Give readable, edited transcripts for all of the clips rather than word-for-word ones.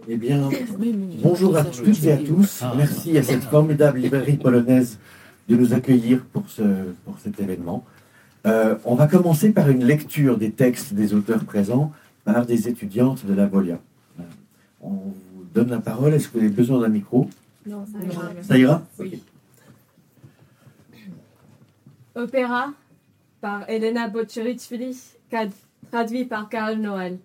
Eh bien, bonjour à toutes et à tous. Merci à cette formidable librairie polonaise de nous accueillir pour cet événement. On va commencer par une lecture des textes des auteurs présents par des étudiantes de la Volia. On vous donne la parole. Est-ce que vous avez besoin d'un micro? Non, ça ira. Ça ira? Oui. Opéra par Elena Bocherich-Fili, traduit par Karl Noël.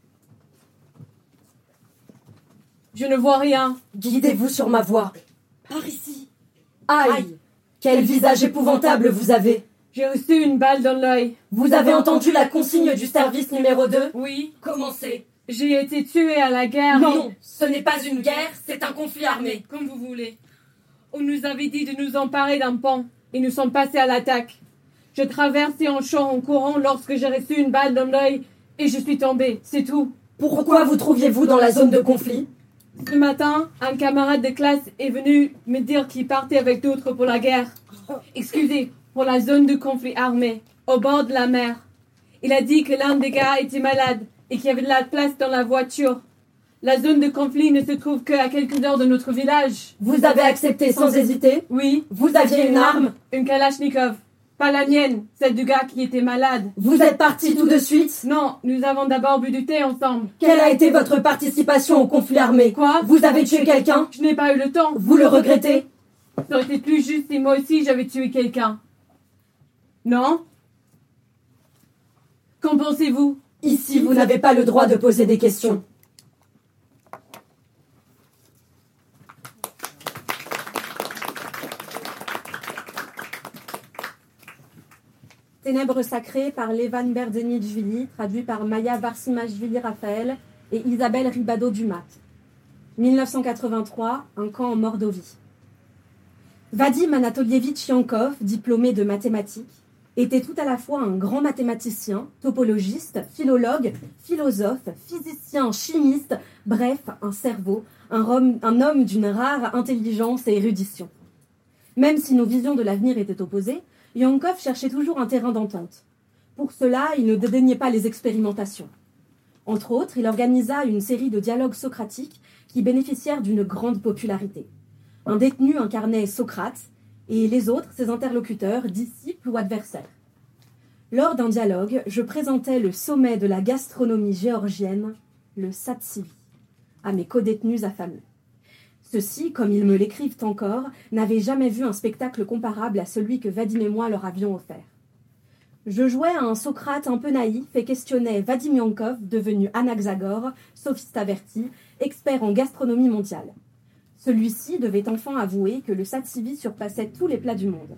Je ne vois rien. Guidez-vous sur ma voie. Par ici. Aïe! Quel visage épouvantable vous avez! J'ai reçu une balle dans l'œil. Vous avez entendu la consigne du service numéro 2? Oui. Commencez. J'ai été tué à la guerre. Non, ce n'est pas une guerre, c'est un conflit armé. Comme vous voulez. On nous avait dit de nous emparer d'un pont et nous sommes passés à l'attaque. Je traversais en champ en courant lorsque j'ai reçu une balle dans l'œil et je suis tombée, c'est tout. Pourquoi vous trouviez-vous dans la zone de conflit? Ce matin, un camarade de classe est venu me dire qu'il partait avec d'autres pour la guerre. Excusez, pour la zone de conflit armé, au bord de la mer. Il a dit que l'un des gars était malade et qu'il y avait de la place dans la voiture. La zone de conflit ne se trouve qu'à quelques heures de notre village. Vous avez accepté sans hésiter? Oui. Vous aviez une arme? Une Kalachnikov. Pas la mienne, celle du gars qui était malade. Vous êtes partis tout de suite? Non, nous avons d'abord bu du thé ensemble. Quelle a été votre participation au conflit armé? Quoi? Vous avez tué quelqu'un? Je n'ai pas eu le temps. Vous le regrettez? Ça aurait été plus juste si moi aussi j'avais tué quelqu'un. Non? Qu'en pensez-vous? Ici, vous n'avez pas le droit de poser des questions. Ténèbres sacrées par Levan Berzenitchvili, traduit par Maya Varsimashvili-Raphaël et Isabelle Ribado-Dumas. 1983, un camp en Mordovie. Vadim Anatolievitch Yankov, diplômé de mathématiques, était tout à la fois un grand mathématicien, topologiste, philologue, philosophe, physicien, chimiste, bref, un cerveau, un homme d'une rare intelligence et érudition. Même si nos visions de l'avenir étaient opposées, Yankov cherchait toujours un terrain d'entente. Pour cela, il ne dédaignait pas les expérimentations. Entre autres, il organisa une série de dialogues socratiques qui bénéficièrent d'une grande popularité. Un détenu incarnait Socrate, et les autres, ses interlocuteurs, disciples ou adversaires. Lors d'un dialogue, je présentais le sommet de la gastronomie géorgienne, le satsivi, à mes codétenus affamés. Ceux-ci, comme ils me l'écrivent encore, n'avaient jamais vu un spectacle comparable à celui que Vadim et moi leur avions offert. Je jouais à un Socrate un peu naïf et questionnais Vadim Yankov, devenu Anaxagore, sophiste averti, expert en gastronomie mondiale. Celui-ci devait enfin avouer que le satsivi surpassait tous les plats du monde.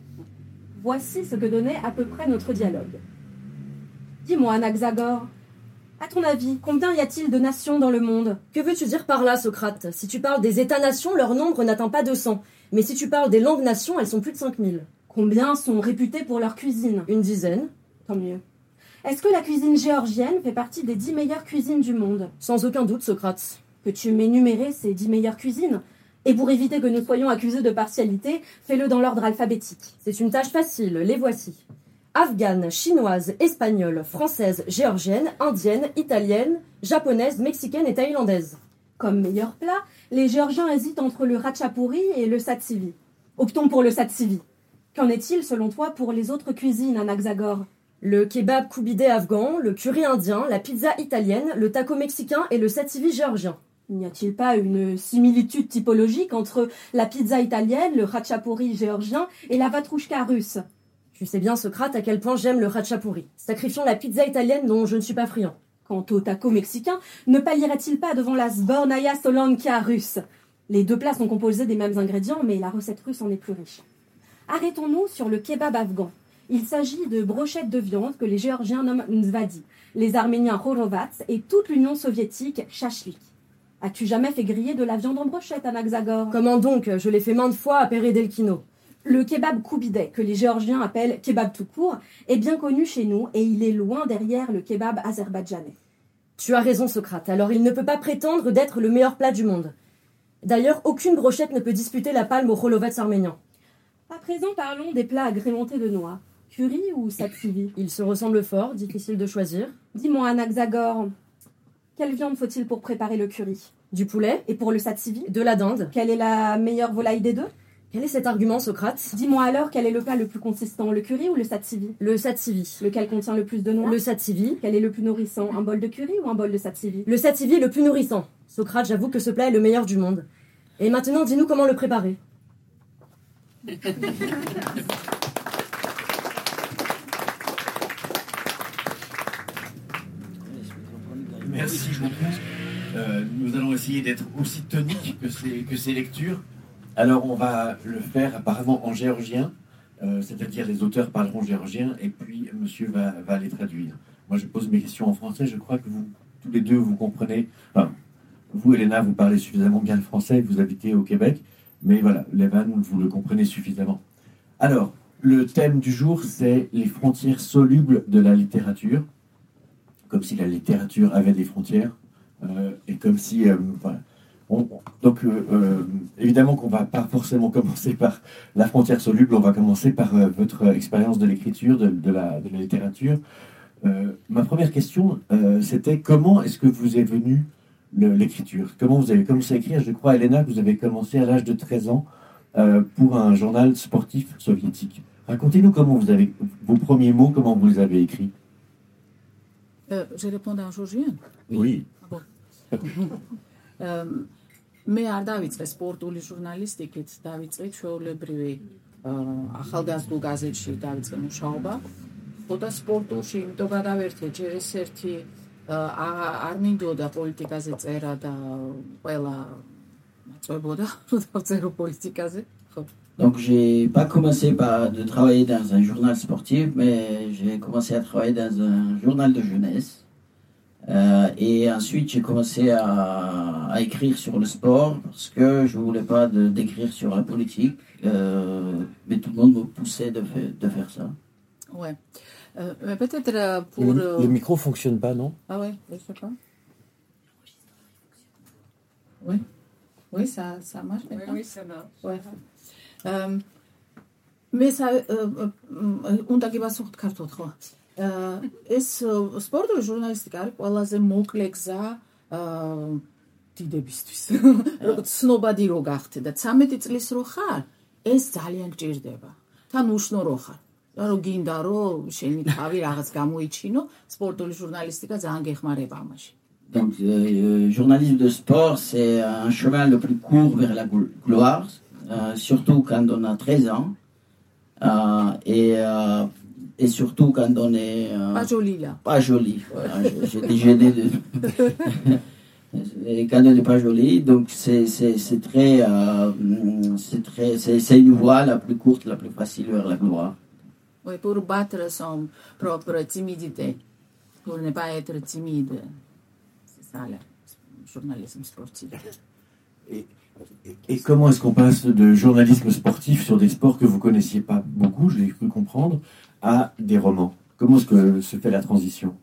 Voici ce que donnait à peu près notre dialogue. Dis-moi, Anaxagore, à ton avis, combien y a-t-il de nations dans le monde? Que veux-tu dire par là, Socrate? Si tu parles des États-nations, leur nombre n'atteint pas 200. Mais si tu parles des langues-nations, elles sont plus de 5000. Combien sont réputées pour leur cuisine? Une dizaine. Tant mieux. Est-ce que la cuisine géorgienne fait partie des 10 meilleures cuisines du monde? Sans aucun doute, Socrate. Peux-tu m'énumérer ces 10 meilleures cuisines? Et pour éviter que nous soyons accusés de partialité, fais-le dans l'ordre alphabétique. C'est une tâche facile, les voici. Afghane, chinoise, espagnole, française, géorgienne, indienne, italienne, japonaise, mexicaine et thaïlandaise. Comme meilleur plat, les Géorgiens hésitent entre le ratchapouri et le satsivi. Optons pour le satsivi. Qu'en est-il, selon toi, pour les autres cuisines, Anaxagore? Le kebab koubidé afghan, le curry indien, la pizza italienne, le taco mexicain et le satsivi géorgien. N'y a-t-il pas une similitude typologique entre la pizza italienne, le ratchapouri géorgien et la vatrouchka russe? Tu sais bien, Socrate, à quel point j'aime le ratchapouri. Sacrifions la pizza italienne dont je ne suis pas friand. Quant au taco mexicain, ne pallierait-il pas devant la sbornaya solankia russe? Les deux plats sont composés des mêmes ingrédients, mais la recette russe en est plus riche. Arrêtons-nous sur le kebab afghan. Il s'agit de brochettes de viande que les Géorgiens nomment nzvadi, les Arméniens horovats et toute l'Union soviétique shashlik. As-tu jamais fait griller de la viande en brochette, Anaxagore? Comment donc? Je l'ai fait maintes fois à Peredelkino. Le kebab koubidé, que les Géorgiens appellent kebab tout court, est bien connu chez nous et il est loin derrière le kebab azerbaïdjanais. Tu as raison, Socrate. Alors il ne peut pas prétendre d'être le meilleur plat du monde. D'ailleurs, aucune brochette ne peut disputer la palme au holovats arménien. À présent, parlons des plats agrémentés de noix. Curry ou satsivi? Ils se ressemblent fort, difficile de choisir. Dis-moi, Anaxagore, quelle viande faut-il pour préparer le curry? Du poulet. Et pour le satsivi, de la dinde. quelle est la meilleure volaille des deux? Quel est cet argument, Socrate? Dis-moi alors, quel est le plat le plus consistant, le curry ou le satsivi? Le satsivi. Lequel contient le plus de noix? Le satsivi. Quel est le plus nourrissant, un bol de curry ou un bol de satsivi? Le satsivi est le plus nourrissant. Socrate, j'avoue que ce plat est le meilleur du monde. Et maintenant, dis-nous comment le préparer. Merci beaucoup. Nous allons essayer d'être aussi toniques que ces lectures. Alors, on va le faire apparemment en géorgien, c'est-à-dire les auteurs parleront géorgien et puis monsieur va les traduire. Moi, je pose mes questions en français. Je crois que vous, tous les deux, vous comprenez. Enfin, vous, Elena, vous parlez suffisamment bien le français, vous habitez au Québec, mais voilà, Levan, vous le comprenez suffisamment. Alors, le thème du jour, c'est les frontières solubles de la littérature, comme si la littérature avait des frontières, et comme si... voilà. Évidemment qu'on ne va pas forcément commencer par la frontière soluble, on va commencer par votre expérience de l'écriture, de la littérature. Ma première question, c'était comment est-ce que vous est venue l'écriture? Comment vous avez commencé à écrire? Je crois, Elena, que vous avez commencé à l'âge de 13 ans pour un journal sportif soviétique. Racontez-nous comment vous avez vos premiers mots, comment vous les avez écrits. Je réponds en géorgien. Oui. მე არ დავიწყე სპორტული ჟურნალისტიკით, დავიწყე ჩვეულებრივი ახალგაზრდულ გაზეთში დავიწყე მუშაობა. ხოდა სპორტულში იმიტომ გადავერთე ჯერ ერთ-ერთი არ მინდოდა პოლიტიკაზე წერა და ყველა წვებოდა რომ დავწერო პოლიტიკაზე. Donc j'ai pas commencé de travailler dans un journal sportif, mais j'ai commencé à travailler dans un journal de jeunesse. Et ensuite, j'ai commencé à écrire sur le sport parce que je ne voulais pas d'écrire sur la politique, mais tout le monde me poussait de faire ça. Ouais. Peut-être pour... Le micro ne fonctionne pas, non? Ah ouais, je ne sais pas. Oui, oui, ça marche maintenant. Oui, ça marche. Ouais. Mais ça... On t'a dit pas sur carton, quoi. ეს სპორტული ჟურნალისტიკა არის ყველაზე მოკლე გზა დიდებისთვის. როგორც ცნობადი რო გახდე და 13 წლის რო ხარ, ეს ძალიან გჭირდება. თან უშნო რო ხარ. და რო გინდა რომ შენი თავი რაღაც გამოიჩინო, სპორტული ჟურნალისტიკა ძალიან გეხმარება ამაში. Donc le journalisme de sport, c'est un chemin le plus court vers la gloire, surtout quand on a 13 ans. Et surtout quand on est... pas joli là. Pas joli. Voilà, j'étais gêné de... Et quand on n'est pas joli, donc c'est une voie la plus courte, la plus facile vers la gloire. Oui, pour battre son propre timidité. Pour ne pas être timide. C'est ça le journalisme sportif. Et comment est-ce qu'on passe de journalisme sportif sur des sports que vous ne connaissiez pas beaucoup, je l'ai cru comprendre, à des romans? Comment est-ce que se fait la transition?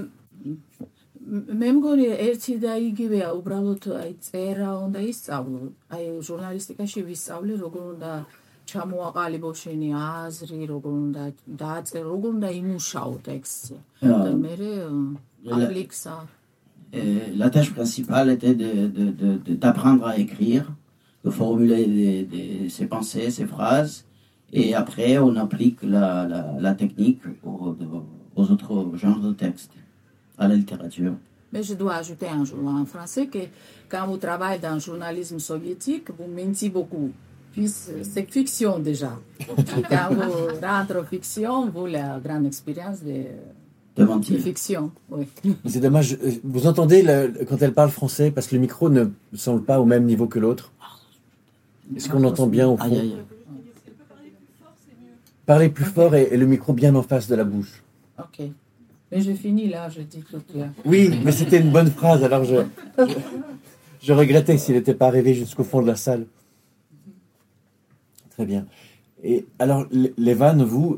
მე მგონი ერთი და იგივეა, უბრალოდ აი წერა უნდა ისწავლო. აი ჟურნალისტიკაში ვისწავლე როგორ უნდა ჩამოაყალიბო შენი აზრი, როგორ უნდა დააწერო, როგორ უნდა იმუშაო ტექსტზე. და მე აპლიქსა. La tâche principale était d'apprendre à écrire, de formuler ses pensées, ses phrases, et après on applique la technique aux autres genres de textes, à la littérature. Mais je dois ajouter un jour en français que quand vous travaillez dans le journalisme soviétique, vous mentez beaucoup, puisque c'est fiction déjà. Quand vous rentrez en fiction, vous avez la grande expérience de fiction. Oui. C'est dommage. Vous entendez quand elle parle français, parce que le micro ne semble pas au même niveau que l'autre. Est-ce qu'on entend bien au fond? Parlez plus fort et le micro bien en face de la bouche. Ok. Mais je finis là, je dis tout là. Oui, mais c'était une bonne phrase, alors je regrettais s'il n'était pas arrivé jusqu'au fond de la salle. Très bien. Et alors, Levan,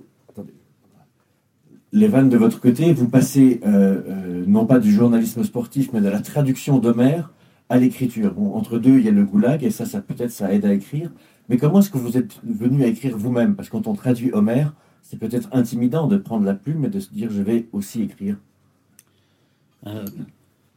Levan, de votre côté, vous passez non pas du journalisme sportif, mais de la traduction d'Homère à l'écriture. Bon, entre deux, il y a le goulag, et ça peut-être ça aide à écrire. Mais comment est-ce que vous êtes venu à écrire vous-même? Parce que quand on traduit Homère, c'est peut-être intimidant de prendre la plume et de se dire je vais aussi écrire.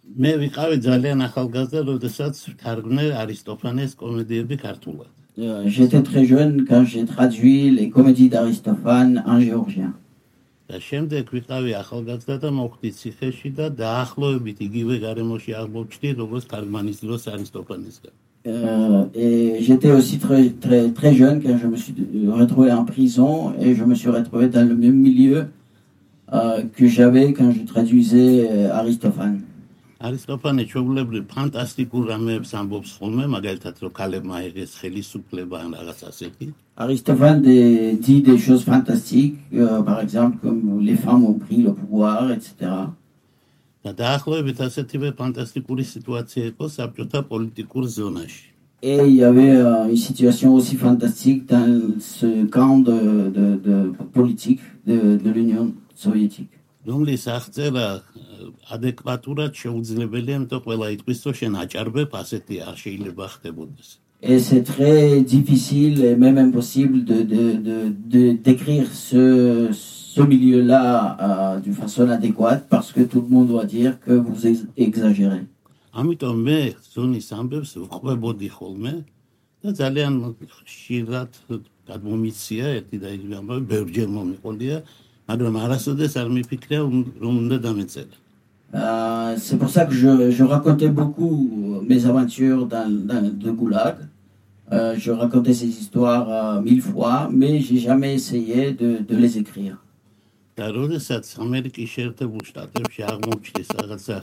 მე ვიყავი ძალიან ახალგაზრდა, როდესაც თარგმნე არისტოფანეს კომედიები ქართულად. J'étais très jeune quand j'ai traduit les comédies d'Aristophane en géorgien. და შემდეგ ვიყავი ახალგაზრდა და მოვხდი ციხეში და დაახლოებით იგივე გარემოში აღმოჩნდი, როგორც თარგმანის დროს არისტოფანესგან. Et j'étais aussi très jeune quand je me suis retrouvé en prison et je me suis retrouvé dans le même milieu que j'avais quand je traduisais Aristophane. არისტოფანე ჩვეულებრივ ფანტასტიკურ რამეებს ამბობს ხოლმე, მაგალითად რომ ქალებმა აიღეს ხელისუფლება ან რაღაც ასეთი. Aristophane dit des choses fantastiques, par exemple comme les femmes ont pris le pouvoir, etc. და დაახლოებით ასეთივე ფანტასტიკური სიტუაცია იყო საბჭოთა პოლიტიკურ ზონაში. Et il y avait une situation aussi fantastique dans ce camp de politique de l'Union soviétique. რომლის აღწერა ადეკვატურად შეუძლებელია, იმიტომ ყველა იტყვის, რომ შენ აჭარბებ, ასეთი არ შეიძლება ხდებოდეს. Et c'est très difficile et même impossible de décrire ce milieu-là d'une façon adéquate parce que tout le monde doit dire que vous exagérez. ამიტომ მე ზონის ამბებს ვყვებოდი ხოლმე და ძალიან ხშირად გადმომიცია ერთი და იგივე ამბავი ბევრჯერ მომიყოლია, მაგრამ არასოდეს არ მიფიქრია რომ უნდა დამეწერა. C'est pour ça que je racontais beaucoup mes aventures dans le Goulag. Je racontais ces histoires 1000 fois, mais j'ai jamais essayé de les écrire. და როდესაც ამერიკის შეერთებულ შტატებში აღმოჩნდეს რაღაცა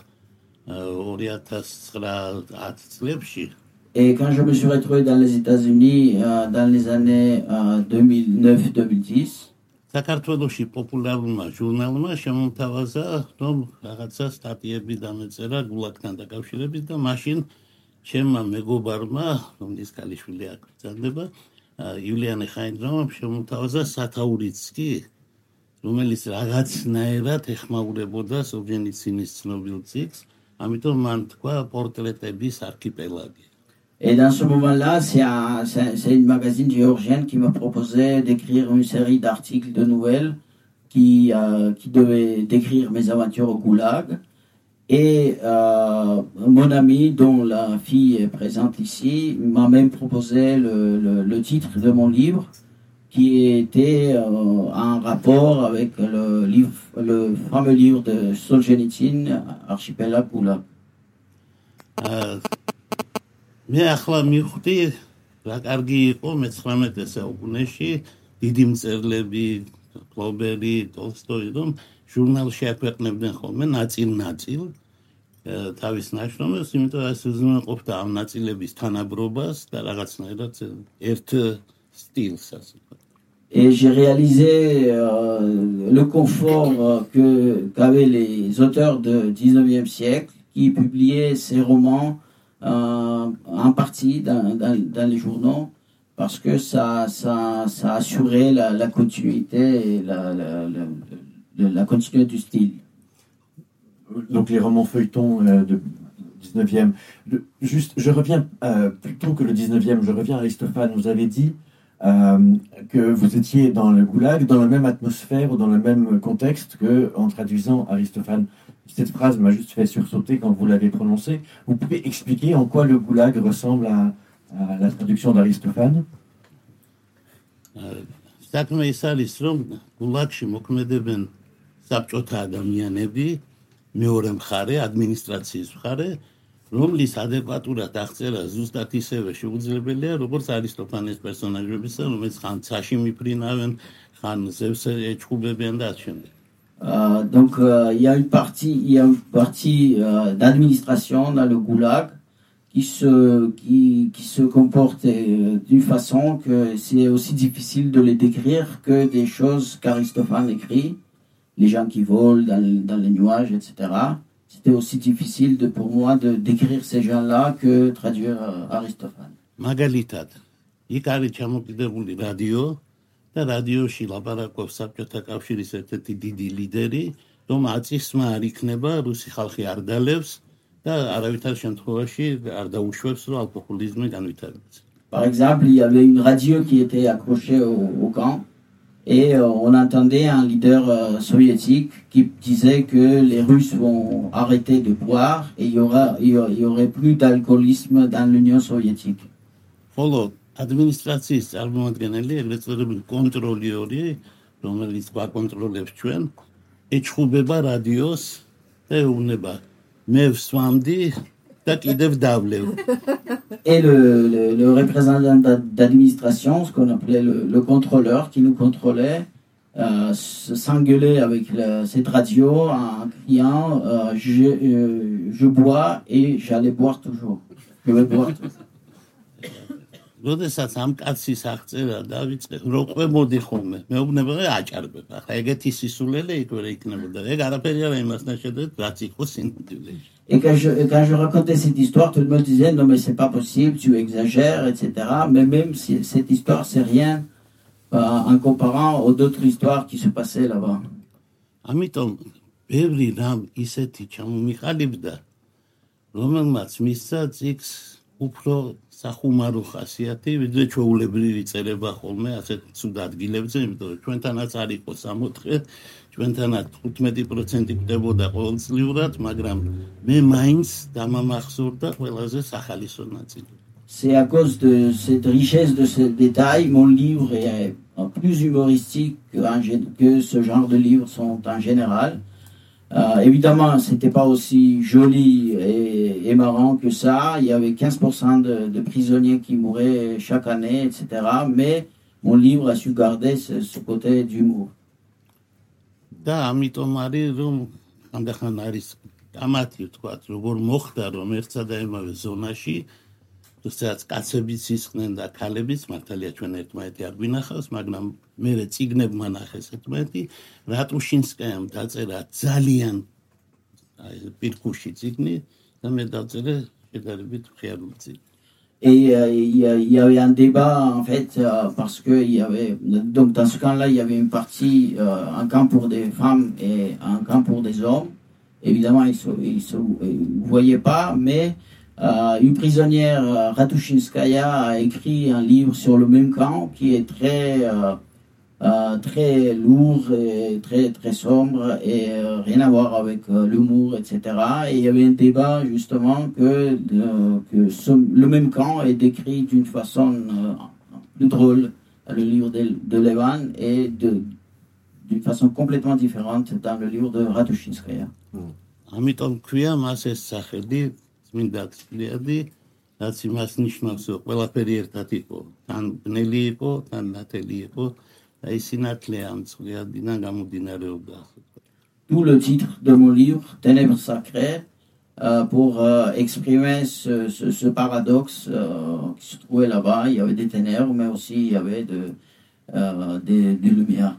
2009-10 წლებში, Et quand je me suis retrouvé dans les États-Unis dans les années 2009-2010, საქართველოში პოპულარულმა ჟურნალმა შემომთავაზა, რომ რაღაცა სტატიები დამეწერა გულაგთან დაკავშირებით და მაშინ ჩემმა მეგობარმა, რომლის ქალიშვილი აქ ბრძანდება, იულიანე ხაინდრამმა შემომთავაზა სათაურიც კი, რომელიც რაღაცნაირად ეხმაურებოდა სოლჟენიცინის ცნობილ ციკლს, ამიტომ მან თქვა პორტრეტების არქიპელაგი. Et dans ce moment-là, c'est une magazine géorgienne qui m'a proposé d'écrire une série d'articles de nouvelles qui devait décrire mes aventures au Goulag. Et mon ami, dont la fille est présente ici, m'a même proposé le titre de mon livre, qui était en rapport avec le fameux livre de Solzhenitsyn, Archipel Goulag. მე ახლა მივხვდი რა კარგი იყო მე-19 საუკუნეში დიდი მწერლები, ფლობერი, ტოლსტოი, რომ ჟურნალში აქვეყნებდნენ ხოლმე ნაწილ-ნაწილ თავის ნაშრომებს, იმიტომ რომ ეს უზრუნველყოფდა ამ ნაწილების თანაბრობას და რაღაცნაირად ერთ სტილს, ასე ვთქვათ. Et j'ai réalisé le confort qu'avaient les auteurs du 19e siècle qui publiaient ces romans en partie dans les journaux parce que ça assurait la continuité et la continuité du style. Donc les romans feuilletons du 19e. Juste, je reviens, plutôt que le 19e, je reviens à Aristophane. Vous avez dit que vous étiez dans le Goulag, dans la même atmosphère ou dans le même contexte qu'en traduisant Aristophane. Cette phrase m'a juste fait sursauter quand vous l'avez prononcée. Vous pouvez expliquer en quoi le Goulag ressemble à la traduction d'Aristophane? საქმე ის არის, რომ გულაგში მოქმედებენ საბჭოთა ადამიანები, მეორე მხარე, ადმინისტრაციის მხარე, რომლის ადეკვატურად აღწერა ზუსტად ისევე შეუძლებელია, როგორც არისტოფანეს პერსონაჟებისა, რომელიც ხან ცაში მიფრინავენ, ხან ზევს ეჩხუბებიან და ასე შემდეგ. Donc il y a une partie d'administration dans le Goulag qui se comporte d'une façon que c'est aussi difficile de les décrire que des choses qu'Aristophane écrit, les gens qui volent dans les nuages, etc. C'était aussi difficile pour moi de décrire ces gens-là que traduire Aristophane. მაგალითად, იქ არის ჩამოკიდებული რადიო და რადიოში ლაპარაკობს საბჭოთა კავშირის ერთ-ერთი დიდი ლიდერი, რომ აწისმა არ იქნება, რუსი ხალხი არ დალევს და არავითარ შემთხვევაში არ დაუშვებს, რომ ალკოჰოლიზმი განვითარდეს. Par exemple, il y avait une radio qui était accrochée au camp Et on entendait un leader soviétique qui disait que les Russes vont arrêter de boire et il y aurait plus d'alcoolisme dans l'Union soviétique. ხოლო ადმინისტრაციის წარმომადგენელი ეგრეთწოდებული კონტროლიორი, რომელიც გვაკონტროლებს ჩვენ, ეჩხუბება რადიოს და ეუბნება მე ვსვამდი და კიდევ დავლევ. Et le représentant d'administration, ce qu'on appelait le contrôleur qui nous contrôlait, s'engueulait avec cette radio en criant je bois et j'allais boire toujours. Je vais boire toujours. როდესაც ამ კაცის აღწერა დავიწყე, რო ყვებოდი ხოლმე, მეუბნება აჭარბებ. ახლა ეგეთი სისულელე იქ ვერ იქნებოდა. ეგ არაფერი არა იმასთან შედარებით, რაც იყო სინამდვილეში. Et quand je racontais cette histoire, tout le monde disait non mais c'est pas possible, tu exagères, etc. Mais même si cette histoire c'est rien en comparant aux d'autres histoires qui se passaient là-bas. ამიტომ ბევრი რამ ისეთი ჩამომიყალიბდა, რომელმაც მისცა წიგნს უფრო სახუმარო ხასიათი, ვიდრე ჩვეულებრივი წერება ხოლმე ასეთ ცუდ ადგილებზე, იმიტომ რომ ჩვენთანაც არ იყო 64, ჩვენთანაც 15% კვდებოდა ყოველწლიურად, მაგრამ მე მაინც დამამახსოვრდა ყველაზე სახალისო ნაწილი. C'est à cause de cette richesse de ces détails, mon livre est plus humoristique que ce genre de livres sont en général. Évidemment, c'était pas aussi joli et marrant que ça. Il y avait 15% de prisonniers qui mouraient chaque année, etc. Mais mon livre a su garder ce côté d'humour. და ამიტომ არის რომ ამდახან არის გამათი ვთქვათ, როგორ მოხდა რომ ერთსა და იმავე ზონაში თუმცა კაცებიც ისხდნენ და ქალებიც მართალია ჩვენ ერთმანეთი არ გვინახავს, მაგრამ მე წიგნებმა ნახეს ერთმანეთი, რატუშინსკაიამ დაწერა ძალიან პირქუში წიგნი და მე დაწერე შედარებით მხიარული წიგნი. Et il y avait un débat en fait parce que il y avait donc dans ce camp-là il y avait une partie un camp pour des femmes et un camp pour des hommes. Évidemment ils se voyaient pas, mais une prisonnière Ratushinskaya a écrit un livre sur le même camp qui est très lourd et très sombre et rien à voir avec l'humour, etc. Et il y avait un débat justement que le même camp est décrit d'une façon plus drôle dans le livre de Levan et d'une façon complètement différente dans le livre de Ratushinskaya. ამიტომ ქვია მას ეს სახელი წმინდა წლიადი, რაც იმას ნიშნავს, რომ ყველაფერი ერთად იყო, თან ბნელი იყო, თან ნათელი იყო. D'où le titre de mon livre, Ténèbres sacrées, pour exprimer ce paradoxe qui se trouvait là-bas. Il y avait des ténèbres, mais aussi il y avait des lumières.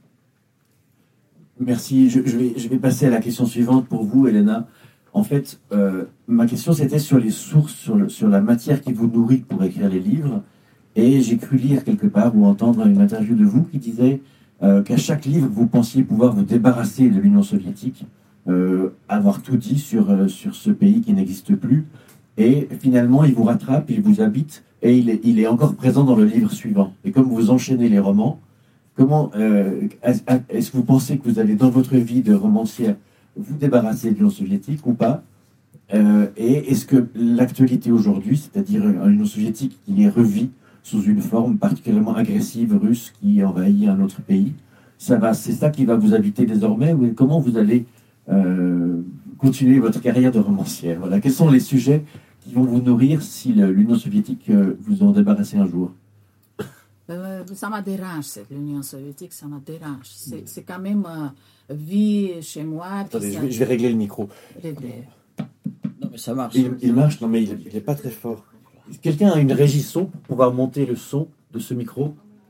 Merci. Je vais passer à la question suivante pour vous, Elena. En fait, ma question c'était sur les sources, sur la matière qui vous nourrit pour écrire les livres. Et j'ai cru lire quelque part ou entendre une interview de vous qui disait qu'à chaque livre, vous pensiez pouvoir vous débarrasser de l'Union soviétique, avoir tout dit sur ce pays qui n'existe plus. Et finalement, il vous rattrape, il vous habite, et il est encore présent dans le livre suivant. Et comme vous enchaînez les romans, comment est-ce que vous pensez que vous allez, dans votre vie de romancière, vous débarrasser de l'Union soviétique ou pas et est-ce que l'actualité aujourd'hui, c'est-à-dire une Union soviétique qui est revue sous une forme particulièrement agressive russe qui envahit un autre pays, c'est ça qui va vous habiter désormais, ou comment vous allez continuer votre carrière de romancière? Voilà. Quels sont les sujets qui vont vous nourrir si l'Union soviétique vous en débarrassez un jour? Ça m'a dérangé, l'Union soviétique, ça m'a dérangé. C'est quand même vie chez moi. Attendez, je vais régler le micro. Non mais ça marche. Il marche, non mais il n'est pas très fort. Quelqu'un a une régie son pour pouvoir monter le son de ce micro?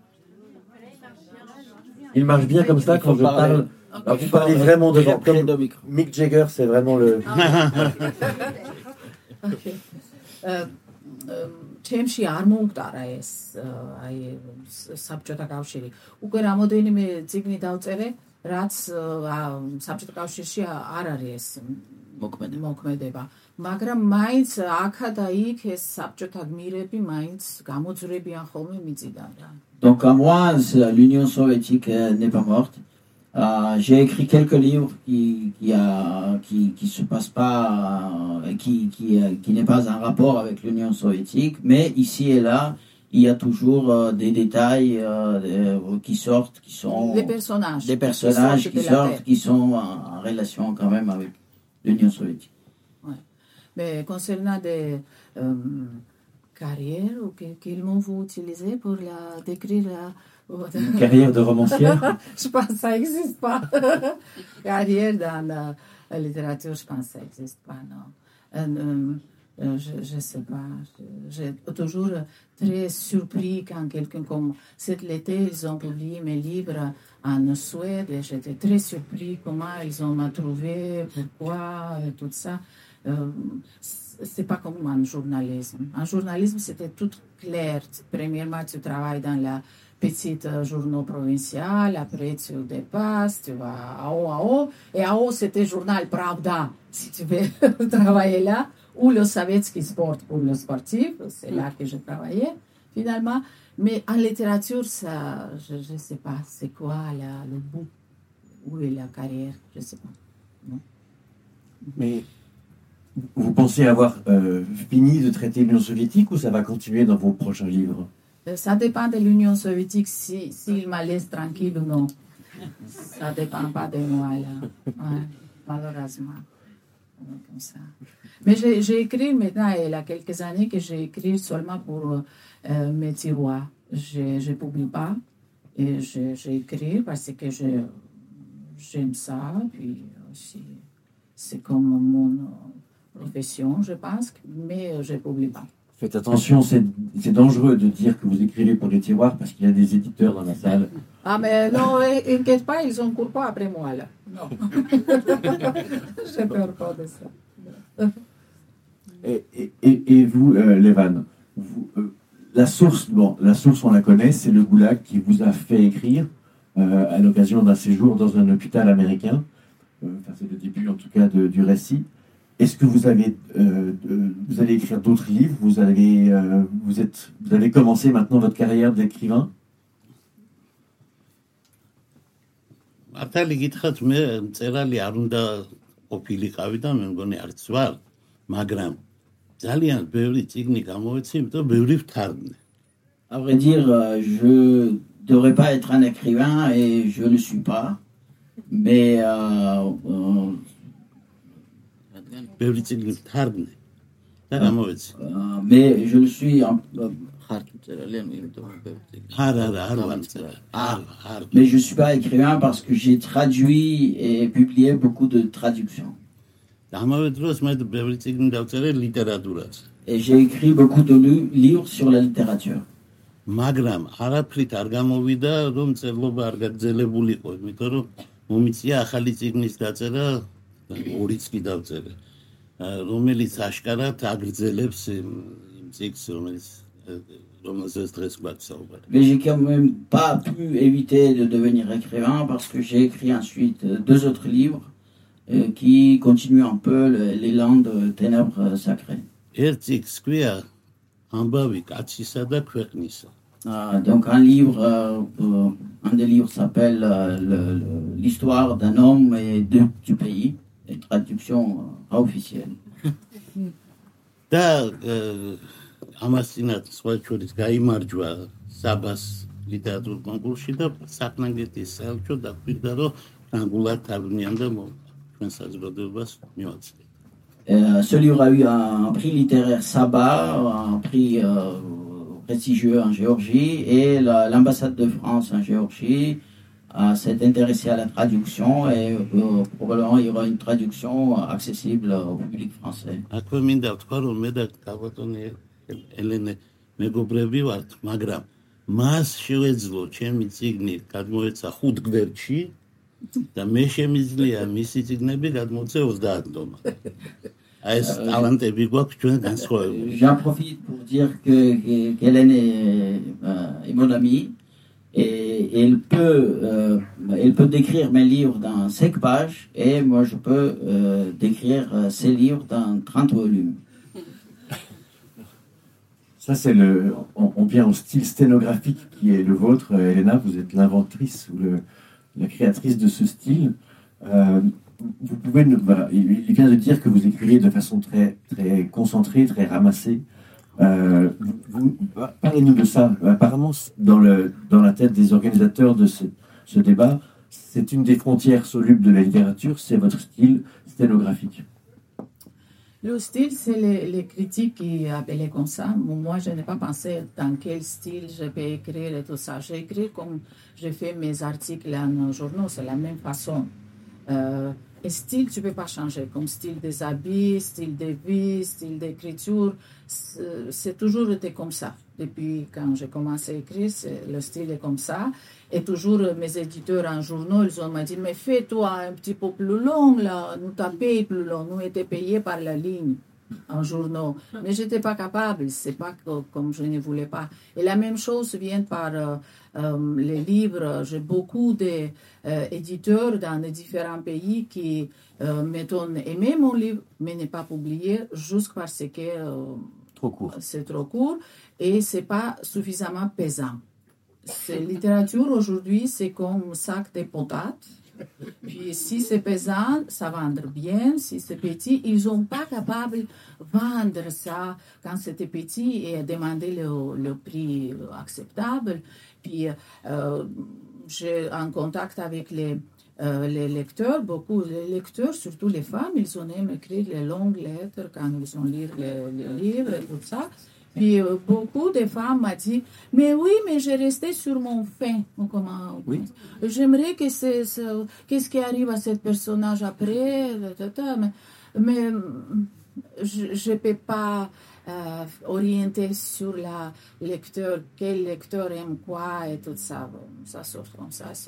Il marche bien comme ça quand je parle. Alors vous parlez vraiment devant. Comme Mick Jagger, c'est vraiment le... ჩემში არ მომკვდარა ეს აი საბჭოთა კავშირი. უკვე რამოდენიმე წიგნი დავწერე, რაც საბჭოთა კავშირში არ არის ეს მოქმედება. მაგრამ მაინც აქა და იქ ეს საბჭოთა გმირები მაინც გამოძვრებიან ხოლმე მიწიდან რა. Donc à moi, l'Union soviétique n'est pas morte. J'ai écrit quelques livres qui se passent pas, qui n'est pas en rapport avec l'Union soviétique, mais ici et là, il y a toujours des détails qui sortent, qui sont des personnages qui sortent, qui sont en relation quand même avec l'Union soviétique. Ouais. Mais concernant des carrières quels mots vous utilisez pour décrire Une carrière de romancière. Je pense que ça n'existe pas. Carrière dans la littérature, je pense que ça n'existe pas, non. Je ne sais pas. J'ai toujours très surpris quand quelqu'un comme cet été, ils ont publié mes livres en Suède et j'étais très surpris comment ils ont m'a trouvé, pourquoi, tout ça. C'est pas comme en journalisme. En journalisme, c'était tout clair. Premièrement, tu travailles dans la petite journaux provincial, après tu dépasses, tu vas à haut, et à haut, c'était journal Pravda, si tu veux travailler là, ou le Sovietsky Sport pour le sportif, c'est là que je travaillais, finalement. Mais en littérature, ça, je ne sais pas, c'est quoi le bout, où est la carrière, je ne sais pas. Non. Mais vous pensez avoir fini de traiter l'Union soviétique ou ça va continuer dans vos prochains livres? Ça dépend de l'Union soviétique, s'il me laisse tranquille ou non. Ça ne dépend pas de moi, là. Ouais, malheureusement. Comme ça. Mais j'ai écrit maintenant, il y a quelques années que j'ai écrit seulement pour mes tiroirs. Je ne publie pas. Et j'ai écrit parce que j'aime ça. Puis aussi, c'est comme mon profession, je pense. Mais je ne publie pas. Faites attention, c'est dangereux de dire que vous écrivez pour les tiroirs parce qu'il y a des éditeurs dans la salle. Ah mais non, inquiète pas, ils ne courent pas après moi là. Non. J'ai peur pas de ça. Et vous, Levan, la source, on la connaît, c'est le Goulag qui vous a fait écrire à l'occasion d'un séjour dans un hôpital américain. C'est le début en tout cas du récit. Est-ce que vous allez écrire d'autres livres? Vous avez commencé maintenant votre carrière d'écrivain? ათალი გითხრათ მე წერალი არ უნდა ყოფილიყავი და მე მგონი არც ვარ, მაგრამ ძალიან ბევრი წიგნი გამოვეცი, იმიტომ ბევრი ვთარგმნე. À vrai dire, je devrais pas être un écrivain et je ne le suis pas, mais ბევრი წიგნი ვთარგმნე და გამოვეცი. Mais je le suis mais je ne suis pas écrivain parce que j'ai traduit et publié beaucoup de traductions. Et j'ai écrit beaucoup de livres sur la littérature. მაგრამ არაფრით არ გამოვიდა რომ წერლობა არ გაგრძელებულიყო, იმიტომ რომ მომიწია ახალი წიგნის დაწერა, ორიც კი დავწერე, რომელიც აშკარად აგრძელებს იმ წიგნს, რომელზეც დღეს გვაქვს საუბარი. Mais j'ai quand même pas pu éviter de devenir écrivain parce que j'ai écrit ensuite 2 autres livres qui continuent un peu l'élan de ténèbres sacrées. ერთ წიგნს ქვია ამბავი კაცისა და ქვეყნისა. Donc un des livres s'appelle l'histoire d'un homme et du pays, une traduction officielle. და ამას წინათ სხვა შორის გაიმარჯვა საბას ლიტერატურულ კონკურსში და საფრანგეთის საელჩო დაგვირდა რომ ფრანგულად თარგმნიან და ჩვენ საზოგადოებას მივაწვდით. Ce livre a eu un prix littéraire Saba, un prix prestigieux en Géorgie, et l'ambassade de France en Géorgie s'est intéressée à la traduction et probablement il y aura une traduction accessible au public français. აქვე მინდა ვთქვა რომ მე და კაბატონი ელენე მეგობრები ვართ, მაგრამ მას შევეძლო ჩემი წიგნი გადმოეცა 5 გვერდში და მე შემიძლია მისი წიგნები გადმოეცა 30 დომა. J'en profite pour dire que Hélène est mon amie Et elle peut décrire mes livres dans 5 pages, et moi je peux décrire ses livres dans 30 volumes. Ça, on vient au style sténographique qui est le vôtre. Elena, vous êtes l'inventrice ou la créatrice de ce style. Vous pouvez, il vient de dire que vous écrivez de façon très, très concentrée, très ramassée. Parlez-nous de ça. Apparemment, dans la tête des organisateurs de ce débat, c'est une des frontières solubles de la littérature, c'est votre style sténographique. Le style, c'est les critiques qui appelaient comme ça. Moi, je n'ai pas pensé dans quel style je peux écrire et tout ça. J'ai écrit comme j'ai fait mes articles en journaux, c'est la même façon. Et style, tu ne peux pas changer, comme style des habits, style de vie, style d'écriture. C'est toujours été comme ça. Depuis quand j'ai commencé à écrire, le style est comme ça. Et toujours mes éditeurs en journaux, ils ont dit, mais fais-toi un petit peu plus long, là. Nous t'as payé plus long. Nous étions payés par la ligne en journaux. Mais je n'étais pas capable. C'est pas comme je ne voulais pas. Et la même chose vient par les livres. J'ai beaucoup d'éditeurs dans les différents pays qui, mettons, aimaient mon livre, mais n'est pas publié juste parce que trop court. C'est trop court et c'est pas suffisamment pesant. C'est littérature aujourd'hui, c'est comme sac de patates. Puis si c'est pesant, ça va vendre bien. Si c'est petit, ils sont pas capables de vendre ça quand c'était petit et demander le prix acceptable. Puis j'ai en contact avec les lecteurs, beaucoup les lecteurs, surtout les femmes, ils ont aimé écrire les longues lettres quand ils ont lu les livres et tout ça. Puis beaucoup de femmes m'ont dit, mais oui, mais j'ai resté sur mon fin. Oui. J'aimerais que qu'est-ce qui arrive à ce personnage après, mais je ne peux pas orienter sur la lecteur, quel lecteur aime quoi et tout ça. Ça sort comme ça, c'est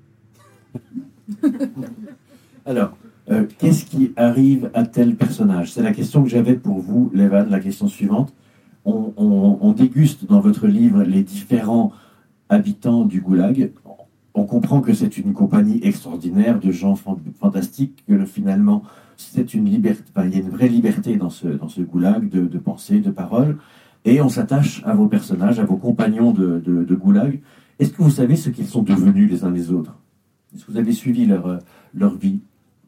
tout. Alors, qu'est-ce qui arrive à tel personnage? C'est la question que j'avais pour vous, Levan, la question suivante. On déguste dans votre livre les différents habitants du Goulag. On comprend que c'est une compagnie extraordinaire de gens fantastiques, que finalement, c'est une liberté, il y a une vraie liberté dans ce Goulag de pensée, de parole. Et on s'attache à vos personnages, à vos compagnons de Goulag. Est-ce que vous savez ce qu'ils sont devenus les uns les autres? Est-ce que vous avez suivi leur vie?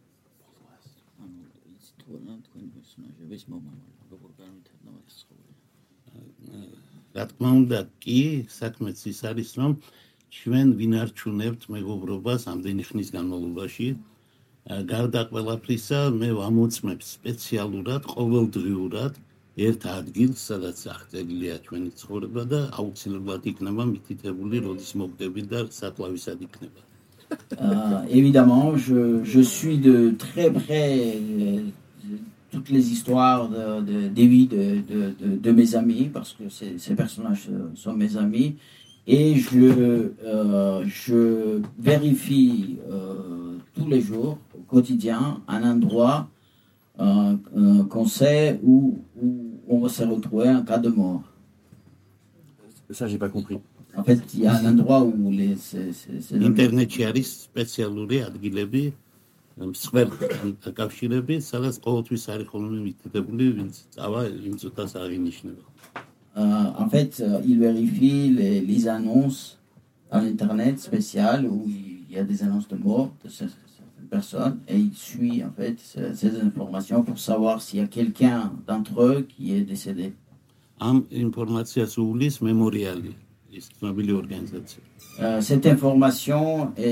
რა თქმა უნდა კი საქმეც ის არის რომ ჩვენ ვინარჩუნებთ მეგობრობას ამდენი ხნის განმავლობაში გარდა ყველაფრისა მე ვამოწმებ სპეციალურად ყოველდღიურად ერთ ადგილს სადაც აღწერილია ჩვენი ცხოვრება და აუცილებლად იქნება მითითებული როდის მოგდებით და საკლავისად იქნება. Évidemment, je suis de très près toutes les histoires des vies de mes amis, parce que ces personnages sont mes amis, et je vérifie tous les jours, au quotidien, un endroit qu'on sait où on va se retrouver en cas de mort. Ça, j'ai pas compris. En fait, il y a un endroit où Internet-ში არის სპეციალური ადგილები კავშირები, სადაც ყოველთვის არის ხოლმე მითითებული, ვინც წავა, იმ წუთას აღინიშნება. En fait, il vérifie les annonces en Internet spéciales où il y a des annonces de mort de certaines personnes et il suit en fait ces informations pour savoir s'il y a quelqu'un d'entre eux qui est décédé. Am informatsiას უვლის მემორიალი, ის ცნობილი ორგანიზაცია. Cette information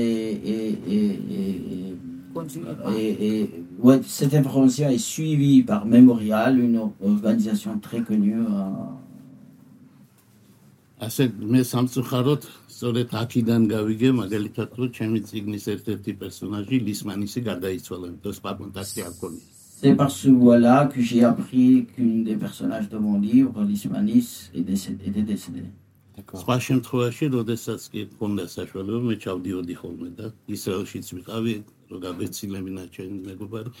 cette information est suivie par Memorial, une organisation très connue. ასე მე სამწუხაროდ სწორედ აქედან გავიგე მაგალითად რომ ჩემი წიგნის ერთ-ერთი პერსონაჟი ლისმანისი გარდაიცვალა, იმიტომ რომ კონტაქტი არ ქონია. C'est par ce voie-là que j'ai appris qu'une des personnages de mon livre, Lismanis, était décédée. სხვა შემთხვევაში, როდესაც კი ქონდა საშუალება, მე ჩავდიოდი ხოლმე და ისრაელშიც ვიყავი, რომ გაბეცილებინა ჩემი მეგობარი,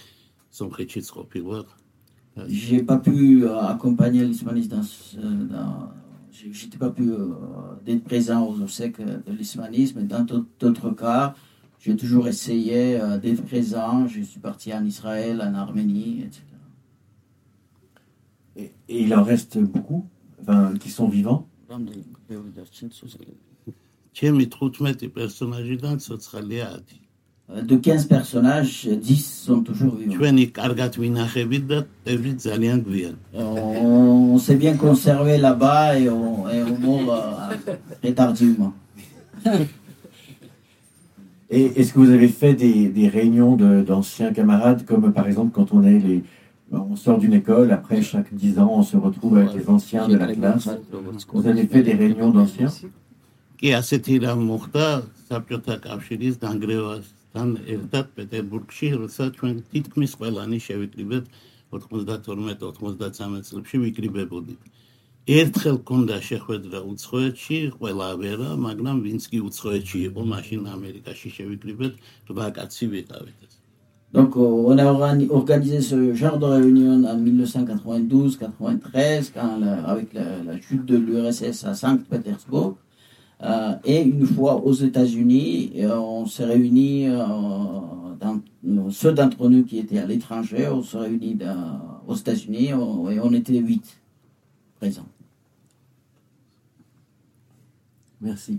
სომხეთშიც ყოფილა. J'ai pas pu accompagner Lismanis j'étais pas pu d'être présent aux obsèques de l'ismanisme. Et dans d'autres cas, j'ai toujours essayé d'être présent. Je suis parti en Israël, en Arménie, etc. Et il en reste beaucoup, qui sont vivants. ჩემი 15 პერსონაჟიდან ცოცხალია 10. De 15 personnages, 10 sont toujours vivants. ჩვენი კარგად ვინახებით და ტები ძალიან გვიან. On s'est bien conservé là-bas et on meurt très tardivement. Et est-ce que vous avez fait des réunions d'anciens camarades, comme par exemple quand on sort d'une école, après chaque 10 ans, on se retrouve avec les anciens de la classe. Vous avez fait des réunions d'anciens? კი ასეთი რამ მოხდა საბჭოთა კავშირის დანგრევასთან ერთად პეტერბურგში, როცა ჩვენ თითქმის ყველანი შევიკრიბეთ 92-93 წლებში ვიკრიბებოდით. ერთხელ ქონდა შეხვედრა უცხოეთში, ყველა ვერა, მაგრამ ვინც კი უცხოეთში იყო, მაშინ ამერიკაში შევიკრიბეთ, 8 კაცი ვიყავით. Donc, on a organisé ce genre de réunion en 1992-93, avec la chute de l'URSS à Saint-Pétersbourg. Et une fois aux États-Unis, on s'est réunis, ceux d'entre nous qui étaient à l'étranger, on s'est réunis aux États-Unis et on était 8 présents. Merci.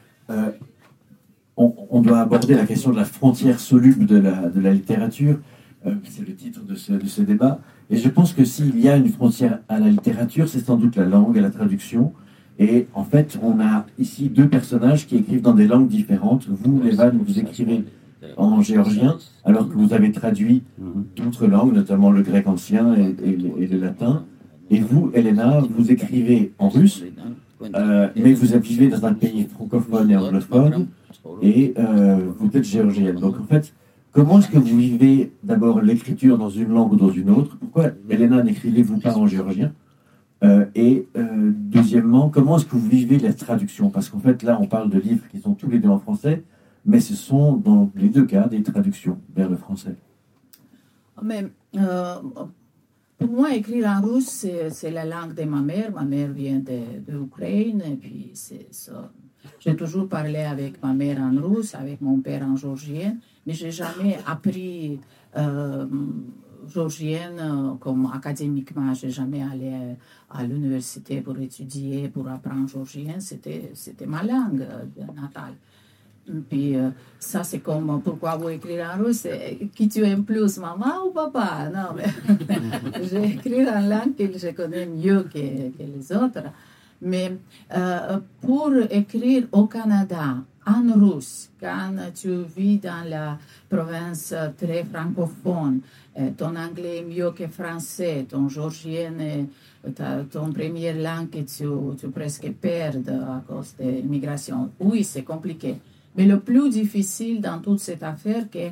On doit aborder la question de la frontière soluble de la littérature. C'est le titre de ce débat. Et je pense que s'il y a une frontière à la littérature, c'est sans doute la langue et la traduction. Et en fait, on a ici 2 personnages qui écrivent dans des langues différentes. Vous, Levan, vous écrivez en géorgien, alors que vous avez traduit d'autres langues, notamment le grec ancien et le latin. Et vous, Elena, vous écrivez en russe, mais vous vivez dans un pays francophone et anglophone, et vous êtes géorgienne. Donc en fait, comment est-ce que vous vivez d'abord l'écriture dans une langue ou dans une autre? Pourquoi, Elena, n'écrivez-vous pas en géorgien? Deuxièmement, comment est-ce que vous vivez la traduction? Parce qu'en fait, là, on parle de livres qui sont tous les deux en français, mais ce sont dans les 2 cas des traductions vers le français. Mais pour moi, écrire en russe, c'est la langue de ma mère. Ma mère vient de l'Ukraine, et puis c'est ça. J'ai toujours parlé avec ma mère en russe, avec mon père en géorgien, mais j'ai jamais appris géorgienne comme académiquement. J'ai jamais allé à l'université pour étudier, pour apprendre géorgien. C'était ma langue natale. Puis ça, c'est comme pourquoi vous écrire en russe, qui tu aimes plus, maman ou papa? Non, mais j'écris en langue que je connais mieux que les autres. Mais pour écrire au Canada, en russe, quand tu vis dans la province très francophone, ton anglais est mieux que français, ton géorgien est ton première langue que tu presque perds à cause de l'immigration. Oui, c'est compliqué. Mais le plus difficile dans toute cette affaire, que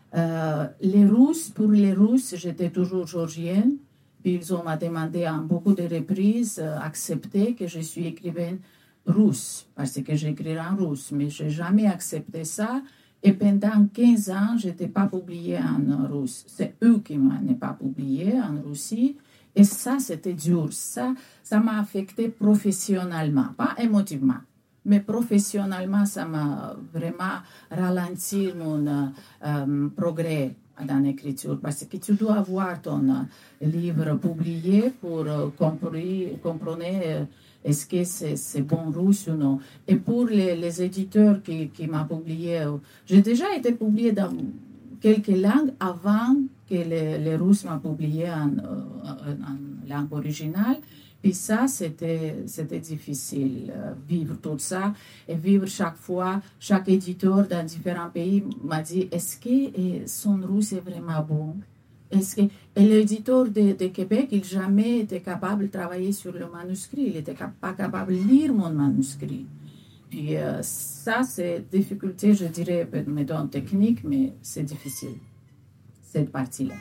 pour les Russes, j'étais toujours géorgienne. Puis ils ont demandé en beaucoup de reprises, accepté que je suis écrivaine russe, parce que j'écris en russe. Mais je n'ai jamais accepté ça. Et pendant 15 ans, je n'étais pas publiée en russe. C'est eux qui ne m'ont pas publiée en Russie. Et ça, c'était dur. Ça m'a affecté professionnellement, pas émotivement. Mais professionnellement, ça m'a vraiment ralenti mon progrès dans l'écriture. Parce que tu dois avoir ton livre publié pour comprendre est-ce que c'est bon russe ou non. Et pour les éditeurs qui m'ont publié, j'ai déjà été publiée dans quelques langues avant que les Russes m'ont publié en langue originale. Puis ça, c'était difficile, vivre tout ça et vivre chaque fois, chaque éditeur dans différents pays m'a dit, est-ce que son russe est vraiment bon? Et l'éditeur de Québec, il n'a jamais été capable de travailler sur le manuscrit, il n'était pas capable de lire mon manuscrit. Puis ça, c'est difficulté, je dirais, mettons technique, mais c'est difficile, cette partie-là.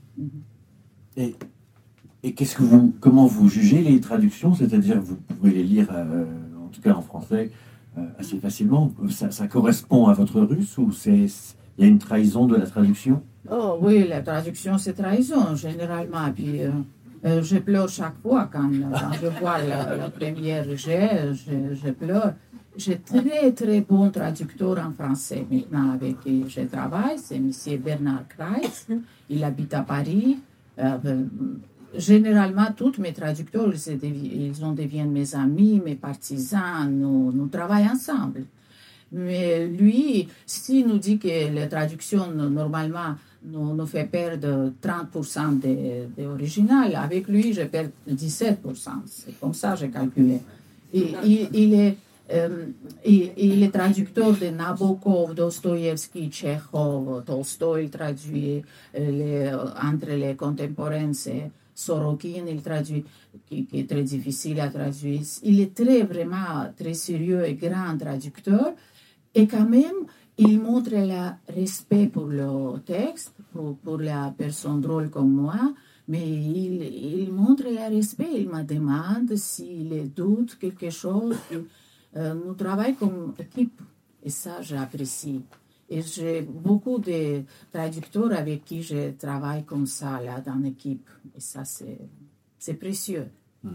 Et comment vous jugez les traductions? C'est-à-dire, vous pouvez les lire, en tout cas en français, assez facilement. Ça correspond à votre russe ou il y a une trahison de la traduction? Oh oui, la traduction, c'est trahison, généralement. Puis Je pleure chaque fois quand je vois la première je pleure. J'ai très très bon traducteur en français maintenant avec qui je travaille, c'est M. Bernard Kreitz. Il habite à Paris. Généralement, tous mes traducteurs, deviennent mes amis, mes partisans, nous travaillons ensemble. Mais lui, s'il nous dit que la traduction, normalement, nous fait perdre 30% de l'original, avec lui, je perds 17%. C'est comme ça que j'ai calculé. Il est traducteur de Nabokov, Dostoïevski, Tchekhov, Tolstoï, il traduit entre les contemporains, c'est Sorokin, il traduit, qui est très difficile à traduire. Il est vraiment très sérieux et grand traducteur. Et quand même, il montre le respect pour le texte, pour la personne drôle comme moi, mais il montre le respect. Il me demande s'il doute quelque chose. Nous travaillons comme équipe, et ça, j'apprécie. Et j'ai beaucoup de traducteurs avec qui je travaille comme ça, là, dans l'équipe. Et ça, c'est précieux.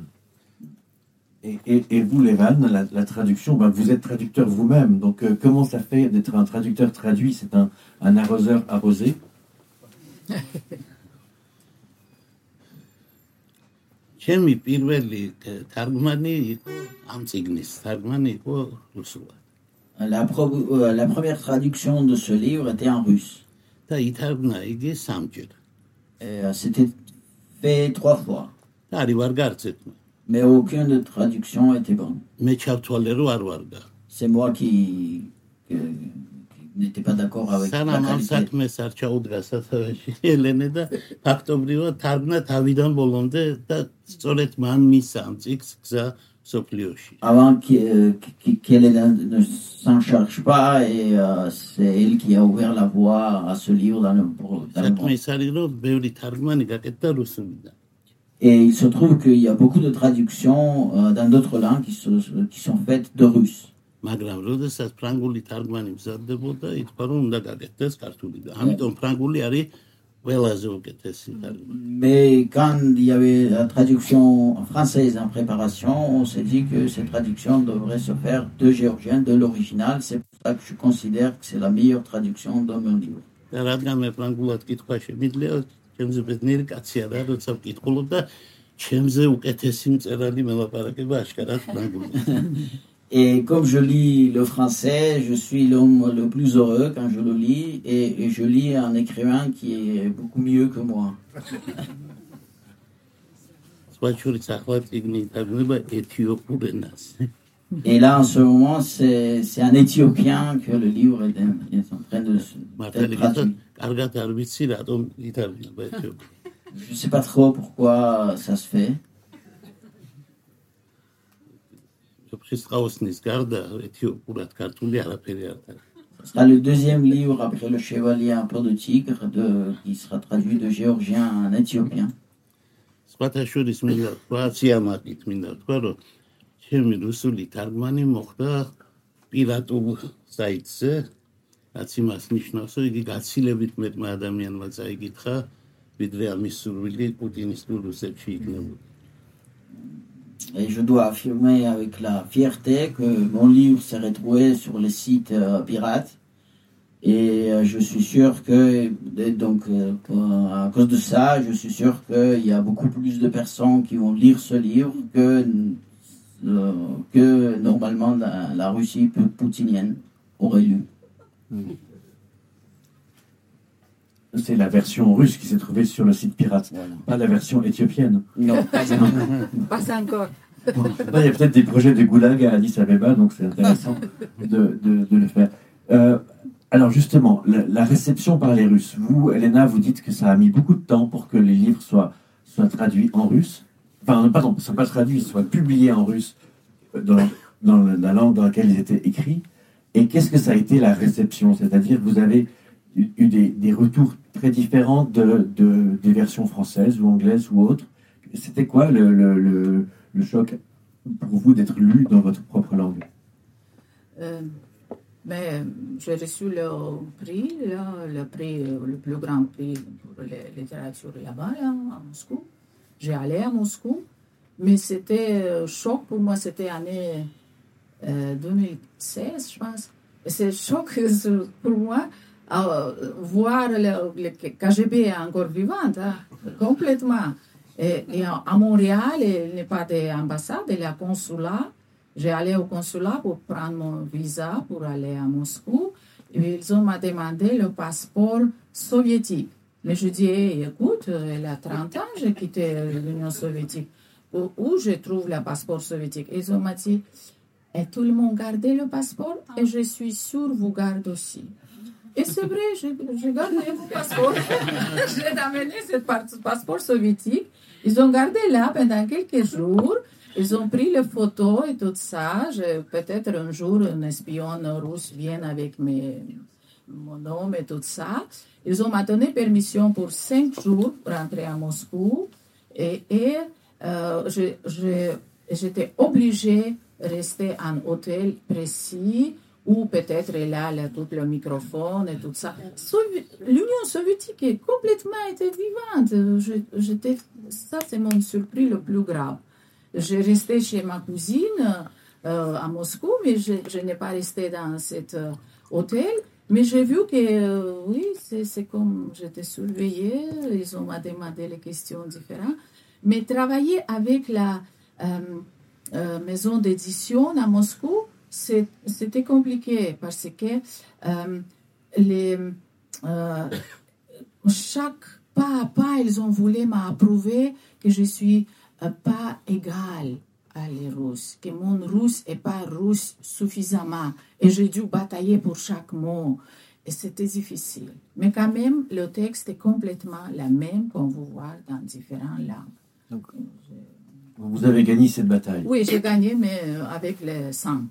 Et vous, Levan, la traduction, vous êtes traducteur vous-même, donc comment ça fait d'être un traducteur traduit? C'est un arroseur arrosé? ჩემი პირველი თარგმანი იყო ამ წიგნის თარგმანი იყო რუსულად. La première traduction de ce livre était en russe. და ითარგმნა იგი 3 ჯერ. C'était fait 3 fois. და არის ვარ გარწეთმა. Mais aucune traduction était bonne. მე ჩავთვალე რომ არ ვარგა. C'est moi qui n'étais pas d'accord avec la სანამ ამ qualité. საქმეს არ ჩაუდგა სათავეში ელენე და ფაქტობრივად თარგმნა თავიდან ბოლომდე და სწორედ მან მისცა ამ წიგნს გზა სოფლიოში. Avant qu'elle ne s'en charge pas, et c'est elle qui a ouvert la voie à ce livre dans le monde. საქმე ის არის რომ ბევრი თარგმანი გაკეთდა რუსულიდან. Et il se trouve qu'il y a beaucoup de traductions dans d'autres langues qui sont faites de russe. მაგრამ როდესაც ფრანგული თარგმანი მზადდებოდა, ითქვა რომ უნდა გაკეთდეს ქართულიდან. ამიტომ ფრანგული არის ყველაზე უკეთესი თარგმანი. Mais quand il y avait la traduction française en préparation, on s'est dit que cette traduction devrait se faire de géorgien, de l'original. C'est pour ça que je considère que c'est la meilleure traduction de mon livre. და რადგან მე ფრანგულად კითხვა შემიძლია, ჩემზე ბედნიერი კაცია და როცა ვკითხულობ და ჩემზე უკეთესი მწერალი მელაპარაკება აშკარად ფრანგულად. Et comme je lis le français, je suis l'homme le plus heureux quand je le lis, et je lis un écrivain qui est beaucoup mieux que moi. Et là, en ce moment, c'est un Éthiopien que le livre est en train d'être traduit. Je ne sais pas trop pourquoi ça se fait. Ce sera le deuxième livre après Le Chevalier un peu de tigre qui sera traduit de géorgien en éthiopien. ჩემი რუსული თარგმანი მოხდა პირატულ საიტზე, რაც იმას ნიშნავს, რომ იგი გაცილებით მეტმა ადამიანმა წაიკითხა, ვიდრე ამის სურვილი პუტინისტურ რუსებში იქნებოდა. Et je dois affirmer avec la fierté que mon livre s'est retrouvé sur les sites pirates. Et je suis sûr que, donc, à cause de ça, je suis sûr qu'il y a beaucoup plus de personnes qui vont lire ce livre que normalement la Russie poutinienne aurait lu. C'est la version russe qui s'est trouvée sur le site pirate, voilà. Pas la version éthiopienne. Non, pas encore. Bon, il y a peut-être des projets de goulag à Addis Abeba, donc c'est intéressant de le faire. Alors justement, la réception par les Russes. Vous, Elena, vous dites que ça a mis beaucoup de temps pour que les livres soient traduits en russe. Enfin, pardon, ne soient pas traduits, soient publiés en russe dans la langue dans laquelle ils étaient écrits. Et qu'est-ce que ça a été la réception? C'est-à-dire que vous avez eu des retours très différents des versions françaises ou anglaises ou autres. C'était quoi le choc pour vous d'être lu dans votre propre langue? Mais j'ai reçu le prix, le plus grand prix pour la littérature là-bas, à Moscou. j'ai allé à Moscou, mais c'était choc pour moi, c'était année 2016, je pense. Et c'est choc pour moi voir le KGB encore vivant, hein, complètement. Et à Montréal, il n'y a pas d'ambassade, il y a un consulat. J'ai allé au consulat pour prendre mon visa pour aller à Moscou. Et ils ont demandé le passeport soviétique. Mais je dis, hey, écoute, il y a 30 ans, j'ai quitté l'Union soviétique. Où je trouve le passeport soviétique? Ils ont dit, et tout le monde gardait le passeport, et je suis sûre vous gardez aussi. Et c'est vrai, j'ai gardé mon passeport. J'ai amené ce passeport soviétique. Ils ont gardé là pendant quelques jours. Ils ont pris les photos et tout ça. Peut-être un jour, un espion russe vient avec mon nom et tout ça. Ils ont donné permission pour 5 jours pour rentrer à Moscou. Et j'étais obligée de rester en hôtel précis où peut-être là, tout le microphone et tout ça. L'Union soviétique est complètement été vivante. Ça, c'est mon surprise le plus grave. J'ai resté chez ma cousine à Moscou, mais je n'ai pas resté dans cet hôtel. Mais j'ai vu que, oui, c'est comme j'étais surveillée. Ils ont demandé les questions différentes. Mais travailler avec la maison d'édition à Moscou, c'était compliqué parce que chaque pas à pas, ils ont voulu m'approuver que je suis pas égale à les Russes, que mon russe n'est pas russe suffisamment. Et j'ai dû batailler pour chaque mot. Et c'était difficile. Mais quand même, le texte est complètement le même qu'on vous voit dans différentes langues. Donc, vous avez gagné cette bataille. Oui, j'ai gagné, mais avec le sang.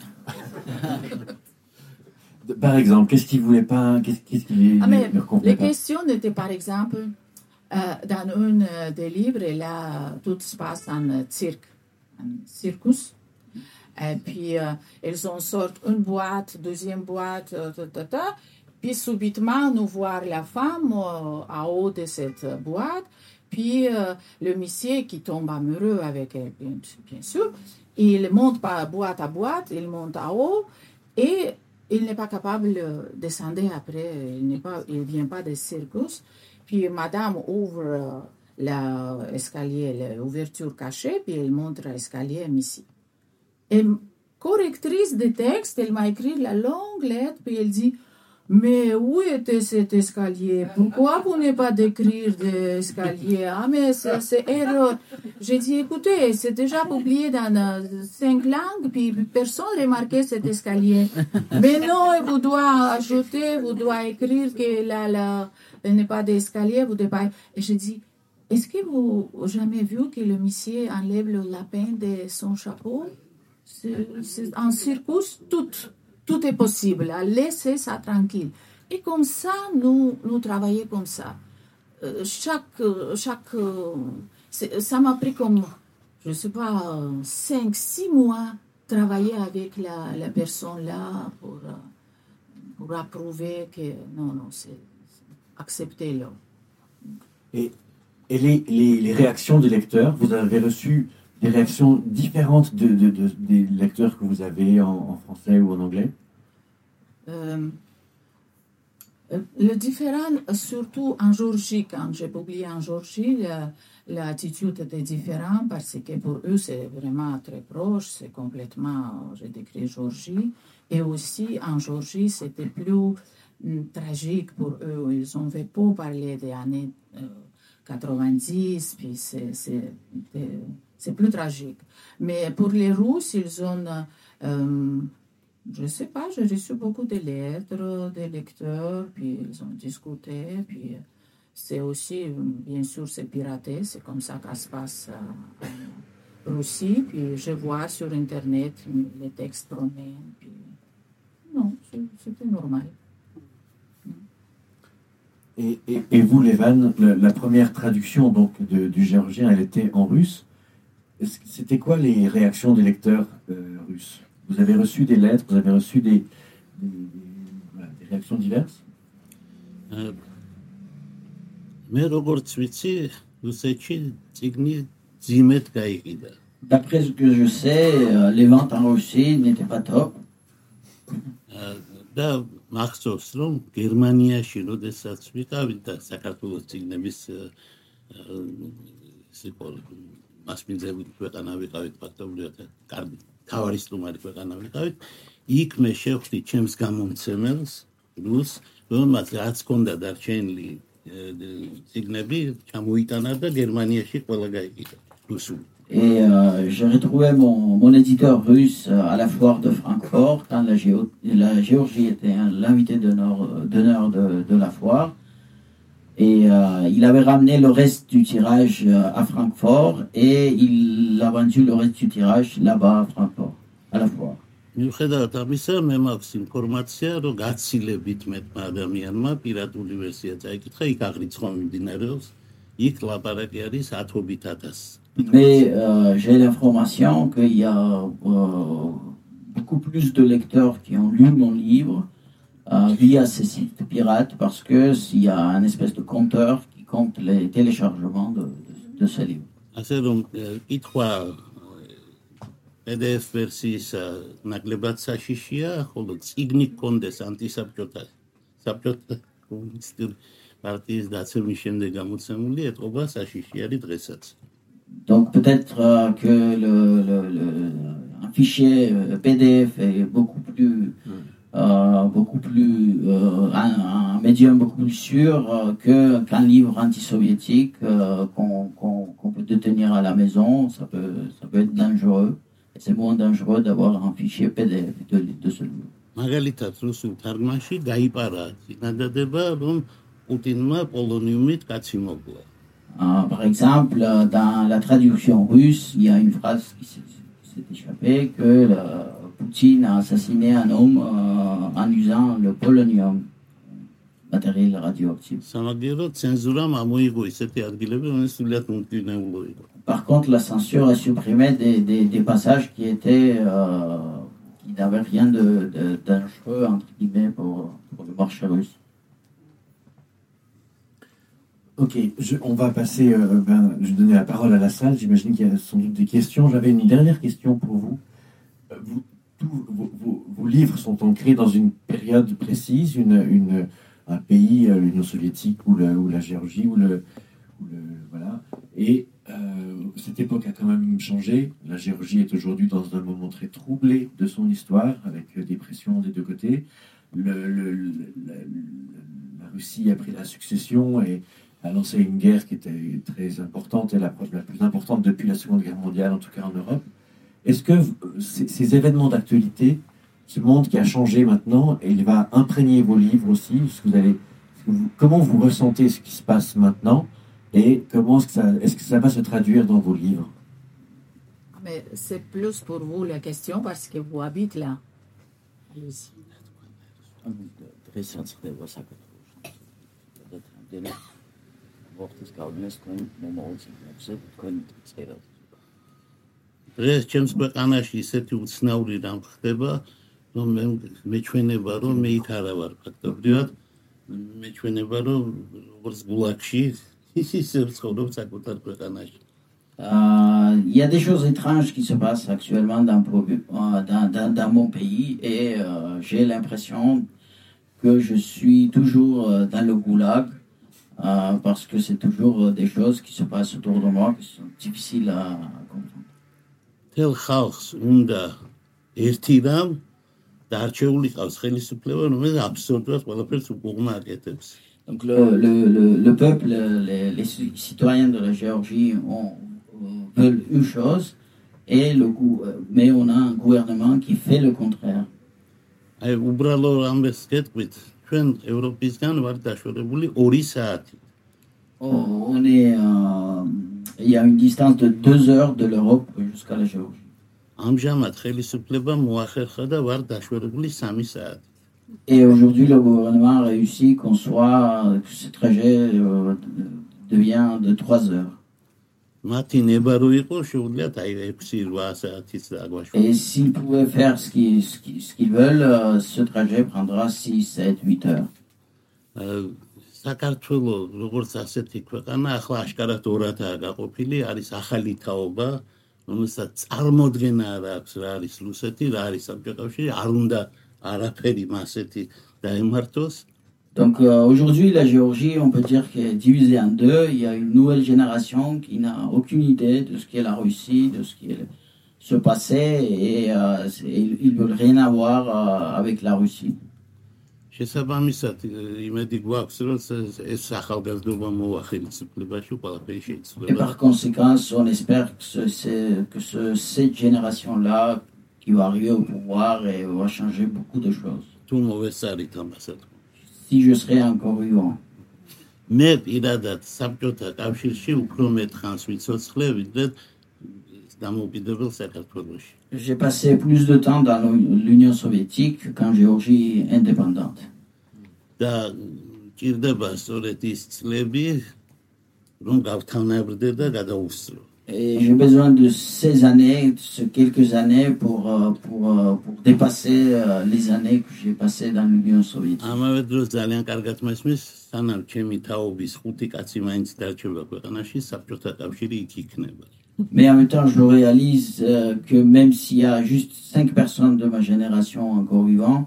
Par exemple, qu'est-ce qu'il ne voulait pas, qu'est-ce qu'il ne comprenait pas? Les questions étaient, par exemple, dans un des livres, là, tout se passe en circus. Et puis, ils en sortent une boîte, deuxième boîte, puis subitement, nous voir la femme en haut de cette boîte, puis le monsieur qui tombe amoureux avec elle, bien sûr, il monte par boîte à boîte, il monte en haut, et il n'est pas capable de descendre après, il ne vient pas de circus. Puis madame ouvre l'escalier, l'ouverture cachée, puis elle montre l'escalier ici. Et correctrice de texte, elle m'a écrit la longue lettre, puis elle dit, mais où était cet escalier? Pourquoi vous n'avez pas d'écrire d'escalier? Ah, mais c'est erreur. J'ai dit, écoutez, c'est déjà publié dans 5 langues, puis personne n'a remarqué cet escalier. Mais non, vous devez ajouter, vous devez écrire que il n'y a pas d'escalier, vous devez pas... Et j'ai dit, est-ce que vous avez jamais vu que le monsieur enlève le lapin de son chapeau? En circus, tout est possible. Laissez ça tranquille. Et comme ça, nous travaillons comme ça. Ça m'a pris comme, je ne sais pas, 5-6 mois travailler avec la personne là pour approuver que non, c'est acceptez-le. Et les réactions des lecteurs, vous avez reçu des réactions différentes des lecteurs que vous avez en français ou en anglais? Le différent, surtout en Géorgie, quand j'ai publié en Géorgie, l'attitude était différente parce que pour eux, c'est vraiment très proche, c'est complètement, j'ai décrit Géorgie. Et aussi, en Géorgie, c'était plus tragique pour eux. Ils n'ont pas parlé des années 90, puis c'est plus tragique. Mais pour les Russes, ils ont, je ne sais pas, j'ai reçu beaucoup de lettres des lecteurs, puis ils ont discuté, puis c'est aussi, bien sûr, c'est piraté, c'est comme ça que ça se passe en Russie, puis je vois sur Internet les textes promènent, puis non, c'était normal. Et vous, Levan, la première traduction donc du géorgien, elle était en russe. C'était quoi les réactions des lecteurs russes? Vous avez reçu des lettres, vous avez reçu des réactions diverses? მე როგორც ვიცი, რუსეთში წიგნი ძიმედ გაიყიდა. D'après ce que je sais, les ventes en Russie n'étaient pas top. და მახსოვს რომ გერმანიაში როდესაც ვიყავით და საქართველოს წიგნების მასპინძელი ქვეყანა ვიყავით ფაქტობრივად კარგი თავარი სტუმარი ქვეყანა ვიყავით იქ მე შევხვდი ჩემს გამომცემელს რუს რომელმაც რაც ჰქონდა დარჩენილი წიგნები ჩამოიტანა და გერმანიაში ყველა გაიყიდა რუსული. Et j'ai retrouvé mon éditeur russe à la foire de Francfort, quand la Géorgie était l'invité d'honneur de la foire. Et il avait ramené le reste du tirage à Francfort et il a vendu le reste du tirage là-bas à Francfort, à la foire. მიუხედავად ამისა, მე მაქვს ინფორმაცია, რომ გაცილებით მეტმა ადამიანმა პირატული ვერსია წაიკითხა, იქ აღრიცხვა მიმდინარეობს, იქ ლაპარაკი არის 10,000. Mais j'ai l'information qu'il y a beaucoup plus de lecteurs qui ont lu mon livre via ces sites pirates parce qu'il y a un espèce de compteur qui compte les téléchargements de ce livre. ასე რომ კითხვა PDF ვერსიის ნაკლებად საშიშია, ხოლო წიგნი გქონდეს ანტისაბჭოთა კომუნისტური პარტიის დაცემის შემდეგ გამოცემული ეთყობა საშიში არის დღესაც. Donc peut-être que un fichier PDF est beaucoup plus un médium beaucoup plus sûr qu'un livre anti-soviétique qu'on peut détenir à la maison. Ça peut être dangereux. Et c'est moins dangereux d'avoir un fichier PDF de ce livre. მაგალითად რუსულ თარგმანში დაიპარა წინადადება რომ პუტინმა პოლონიუმით კაცი მოკლა. Par exemple, dans la traduction russe, il y a une phrase qui s'est échappée que Poutine a assassiné un homme en usant le polonium, matériel radioactif. სამაგიეროდ ცენზურამ ამოიღო ისეთი ადგილები, რომელიც სულად მომდინეულო იყო. Par contre, la censure a supprimé des passages qui n'avaient rien de dangereux entre guillemets pour le marché russe. Ok, on va passer, je vais donner la parole à la salle, j'imagine qu'il y a sans doute des questions. J'avais une dernière question pour vous. Tous vos livres sont ancrés dans une période précise, un pays, l'Union soviétique ou la Géorgie, voilà. Et cette époque a quand même changé. La Géorgie est aujourd'hui dans un moment très troublé de son histoire, avec des pressions des deux côtés. La Russie a pris la succession et a lancé une guerre qui était très importante et la plus importante depuis la Seconde Guerre mondiale, en tout cas en Europe. Est-ce que ces événements d'actualité, ce monde qui a changé maintenant, et il va imprégner vos livres aussi, comment vous ressentez ce qui se passe maintenant et est-ce que ça va se traduire dans vos livres? Mais c'est plus pour vous la question parce que vous habitez là. Allez-y. დღეს ჩემს ქვეყანაში ისეთი უცნაური რამ ხდება, რომ მეჩვენება, რომ მე იქ არა ვარ ფაქტობრივად, მეჩვენება, რომ როგორც გულაგში ისე ვცხოვრობ საკუთარ ქვეყანაში. Il y a des choses étranges qui se passent actuellement dans mon pays et j'ai l'impression que je suis toujours dans le goulag parce que c'est toujours des choses qui se passent autour de moi qui sont difficiles à comprendre. თელ ხალხს უნდა ერთი რამ დარჩეული ყავს ხელისუფლება, რომელიც აბსოლუტურად ყველაფერს უკუღმა აკეთებს. Donc le peuple, les citoyens de la Géorgie veulent une chose mais on a un gouvernement qui fait le contraire. აი უბრალო ამბეს გეტყვით, ჩვენ ევროპისგან ვართ დაშორებული 2 საათი. Il y a une distance de 2 heures de l'Europe jusqu'à la Géorgie. ამჟამად ხელისუფლება მოახერხა და ვართ დაშორებული 3 საათი. Et aujourd'hui, le gouvernement a réussi que ce trajet devient de 3 heures. მათი ნება რო იყო, შეუძლიათ აი 6-8 საათიც დაგვაშორებულიყო. Et s'ils pouvaient faire ce qu'ils veulent, ce trajet prendra 6, 7, 8 heures. საქართველო როგორც ასეთი ქვეყანა ახლა აშკარად ორადაა გაყოფილი, არის ახალი თაობა, რომელსაც წარმოდგენა არ აქვს რა არის რუსეთი, რა არის საბჭოთა კავშირი, არ უნდა არაფერი მასეთი დაემართოს. Donc aujourd'hui, la Géorgie, on peut dire qu'elle est divisée en deux. Il y a une nouvelle génération qui n'a aucune idée de ce qu'est la Russie, de ce qui se passait, et ils ne veulent rien avoir avec la Russie. შესაბამისად, იმედი გვაქვს, რომ ეს ახალგაზრდობა მოახერხებლებაში ყველაფერი Et შეიძლება. par conséquent, on espère que cette génération-là, qui va arriver au pouvoir, et va changer beaucoup de choses. თუ მოვესწარით ამასაც. Si je serais encore vivant. მე პირადად საბჭოთა კავშირში უფრო მეტ ხანს ვიცოცხლე, ვიდრე დამოუკიდებელ საქართველოში. J'ai passé plus de temps dans l'Union soviétique qu'en Géorgie indépendante. და ჭირდება სწორედ ის წლები, რომ გავთავნაბრდე და გადავუსწრო. Et j'ai besoin de ces années, de quelques années pour dépasser les années que j'ai passées dans l'Union soviétique. ამავე დროს ძალიან კარგად მესმის, სანამ ჩემი თაობის 5 კაცი მაინც დარჩება ქვეყანაში, საბჭოთა კავშირი იქ იქნება. Mais en même temps, je réalise que même s'il y a juste 5 personnes de ma génération encore vivants,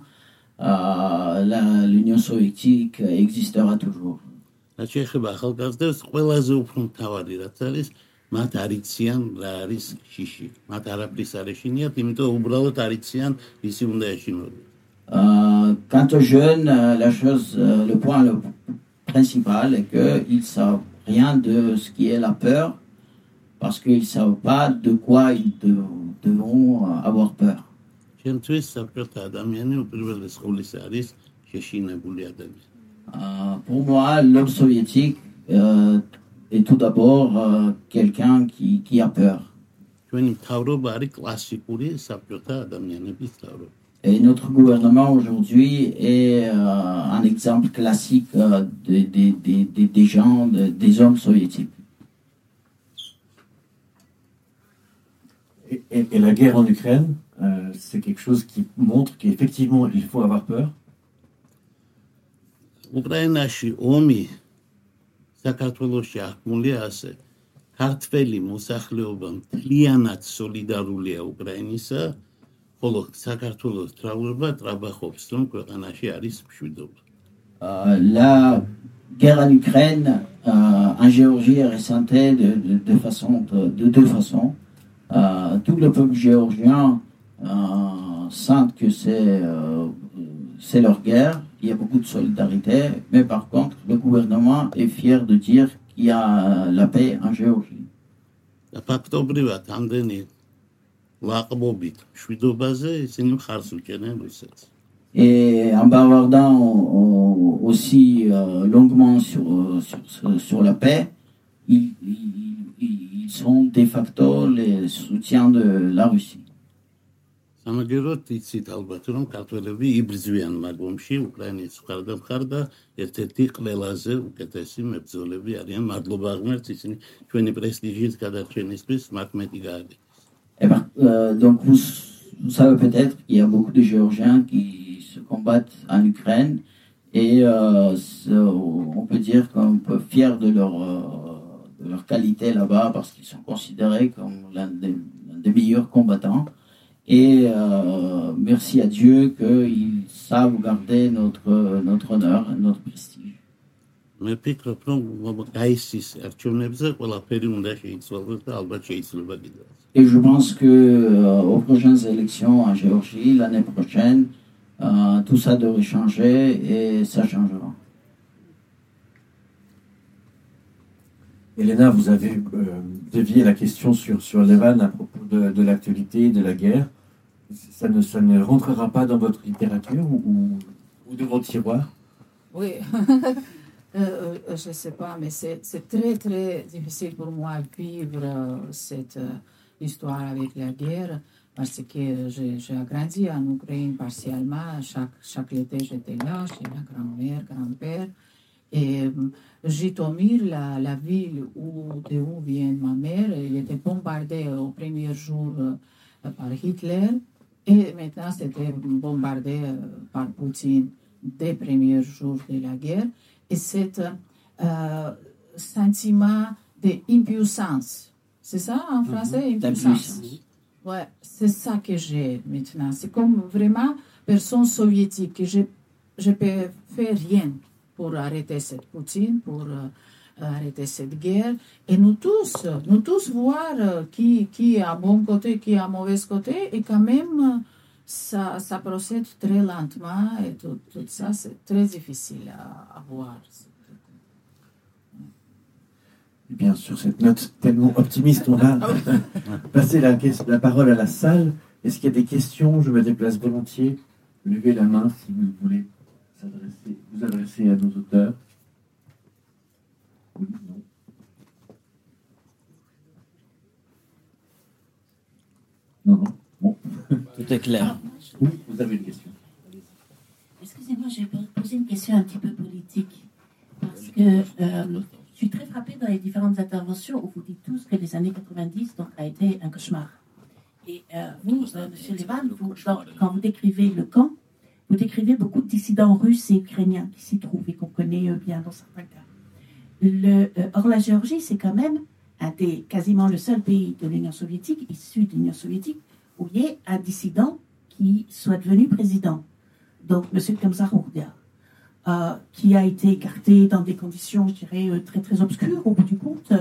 l'Union soviétique existera toujours. რაც შეეხება ახალგაზრდებს, ყველაზე უფრო მთავარი რაც არის, მათ არ იციან რა არის შიში. მათ არაფრის არ ეშინიათ, იმიტომ უბრალოდ არ იციან ისი უნდა ეშინოდონ. Quant aux jeunes, le point principal est qu'ils ne savent rien de ce qui est la peur, parce qu'ils ne savent pas de quoi ils devront avoir peur. ჩემთვის საბჭოთა ადამიანი უპირველეს ყოვლისა არის შეშინებული ადამიანი. Pour moi, l'homme soviétique est tout d'abord quelqu'un qui a peur. ჩვენი მთავრობა არის კლასიკური საბჭოთა ადამიანების მთავრობა. Et notre gouvernement aujourd'hui est un exemple classique des gens, des hommes soviétiques. Et la guerre en Ukraine, c'est quelque chose qui montre qu'effectivement, il faut avoir peur. უკრაინაში ომი საქართველოში აღქმულია ასე. ქართველი მოსახლეობა მთლიანად სოლიდარულია უკრაინისა, ხოლო საქართველოს მთავრობა ტრაბახობს, რომ ქვეყანაში არის მშვიდობა. La guerre en Ukraine, en Géorgie, est ressentie de deux façons. Tout le peuple géorgien sent que c'est leur guerre. Il y a beaucoup de solidarité, mais par contre, le gouvernement est fier de dire qu'il y a la paix en Géorgie. და ფაქტობრივად ამდენი ლაყბობით მშვიდობაზე ისინი მხარს უჭერენ რუსეთს. Et en bavardant aussi longuement sur la paix, ils sont de facto les soutiens de la Russie. სამაგეროდ იცით ალბათ, რომ ქართველები იბრძვიან მაგ ომში უკრაინის მხარდამხარ და ერთ-ერთი ყველაზე უკეთესი მებრძოლები არიან. მადლობა ღმერთს, ისინი ჩვენი პრესტიჟის გადარჩენისთვის მათ მეტი გააკეთეს. Donc vous savez peut-être qu'il y a beaucoup de Géorgiens qui se combattent en Ukraine et on peut dire qu'on peut être fier de leur qualité là-bas parce qu'ils sont considérés comme l'un des meilleurs combattants. Et merci à Dieu qu'ils savent garder notre honneur, notre prestige. მე ვფიქრობ, რომ გაისის არჩევნებზე ყველაფერი უნდა შეიცვალოს და ალბათ შეიძლება კიდევ. Et je pense que aux prochaines élections en Géorgie l'année prochaine, tout ça devrait changer et ça changera. Elena, vous avez dévié la question sur Levan à propos de l'actualité, de la guerre. Ça ne rentrera pas dans votre littérature ou de vos tiroirs? Oui, je ne sais pas, mais c'est très très difficile pour moi de vivre cette histoire avec la guerre parce que j'ai grandi en Ukraine partiellement. Chaque été, j'étais là chez ma grand-mère, grand-père. Et Jitomir, la ville d'où vient ma mère, elle était bombardée au premier jour par Hitler. Et maintenant, c'était bombardé par Poutine dès les premiers jours de la guerre. et cet sentiment d'impuissance. C'est ça en français, impuissance? Ouais, c'est ça que j'ai maintenant. C'est comme vraiment personne soviétique que je peux faire rien pour arrêter cette Poutine, pour arrêter cette guerre. Et nous tous voir qui est à bon côté, qui est à mauvais côté, et quand même, ça procède très lentement, et tout ça, c'est très difficile à voir. Et bien, sur cette note tellement optimiste, on va passer la parole à la salle. Est-ce qu'il y a des questions? Je me déplace volontiers. Levez la main si vous voulez vous adresser à nos auteurs. Oui, non. Non. Bon. Tout est clair. Oui, vous avez une question. Excusez-moi, je vais poser une question un petit peu politique. Parce que je suis très frappée dans les différentes interventions où vous dites tous que les années 90 donc, a été un cauchemar. Et vous, M. Levan, quand vous décrivez le camp, vous décrivez beaucoup de dissidents russes et ukrainiens qui s'y trouvent et qu'on connaît bien dans certains cas. Or, la Géorgie, c'est quand même quasiment le seul pays de l'Union soviétique, issu de l'Union soviétique, où il y ait un dissident qui soit devenu président. Donc, M. Khamzat-Ourdia, qui a été écarté dans des conditions, je dirais, très très obscures au bout du compte,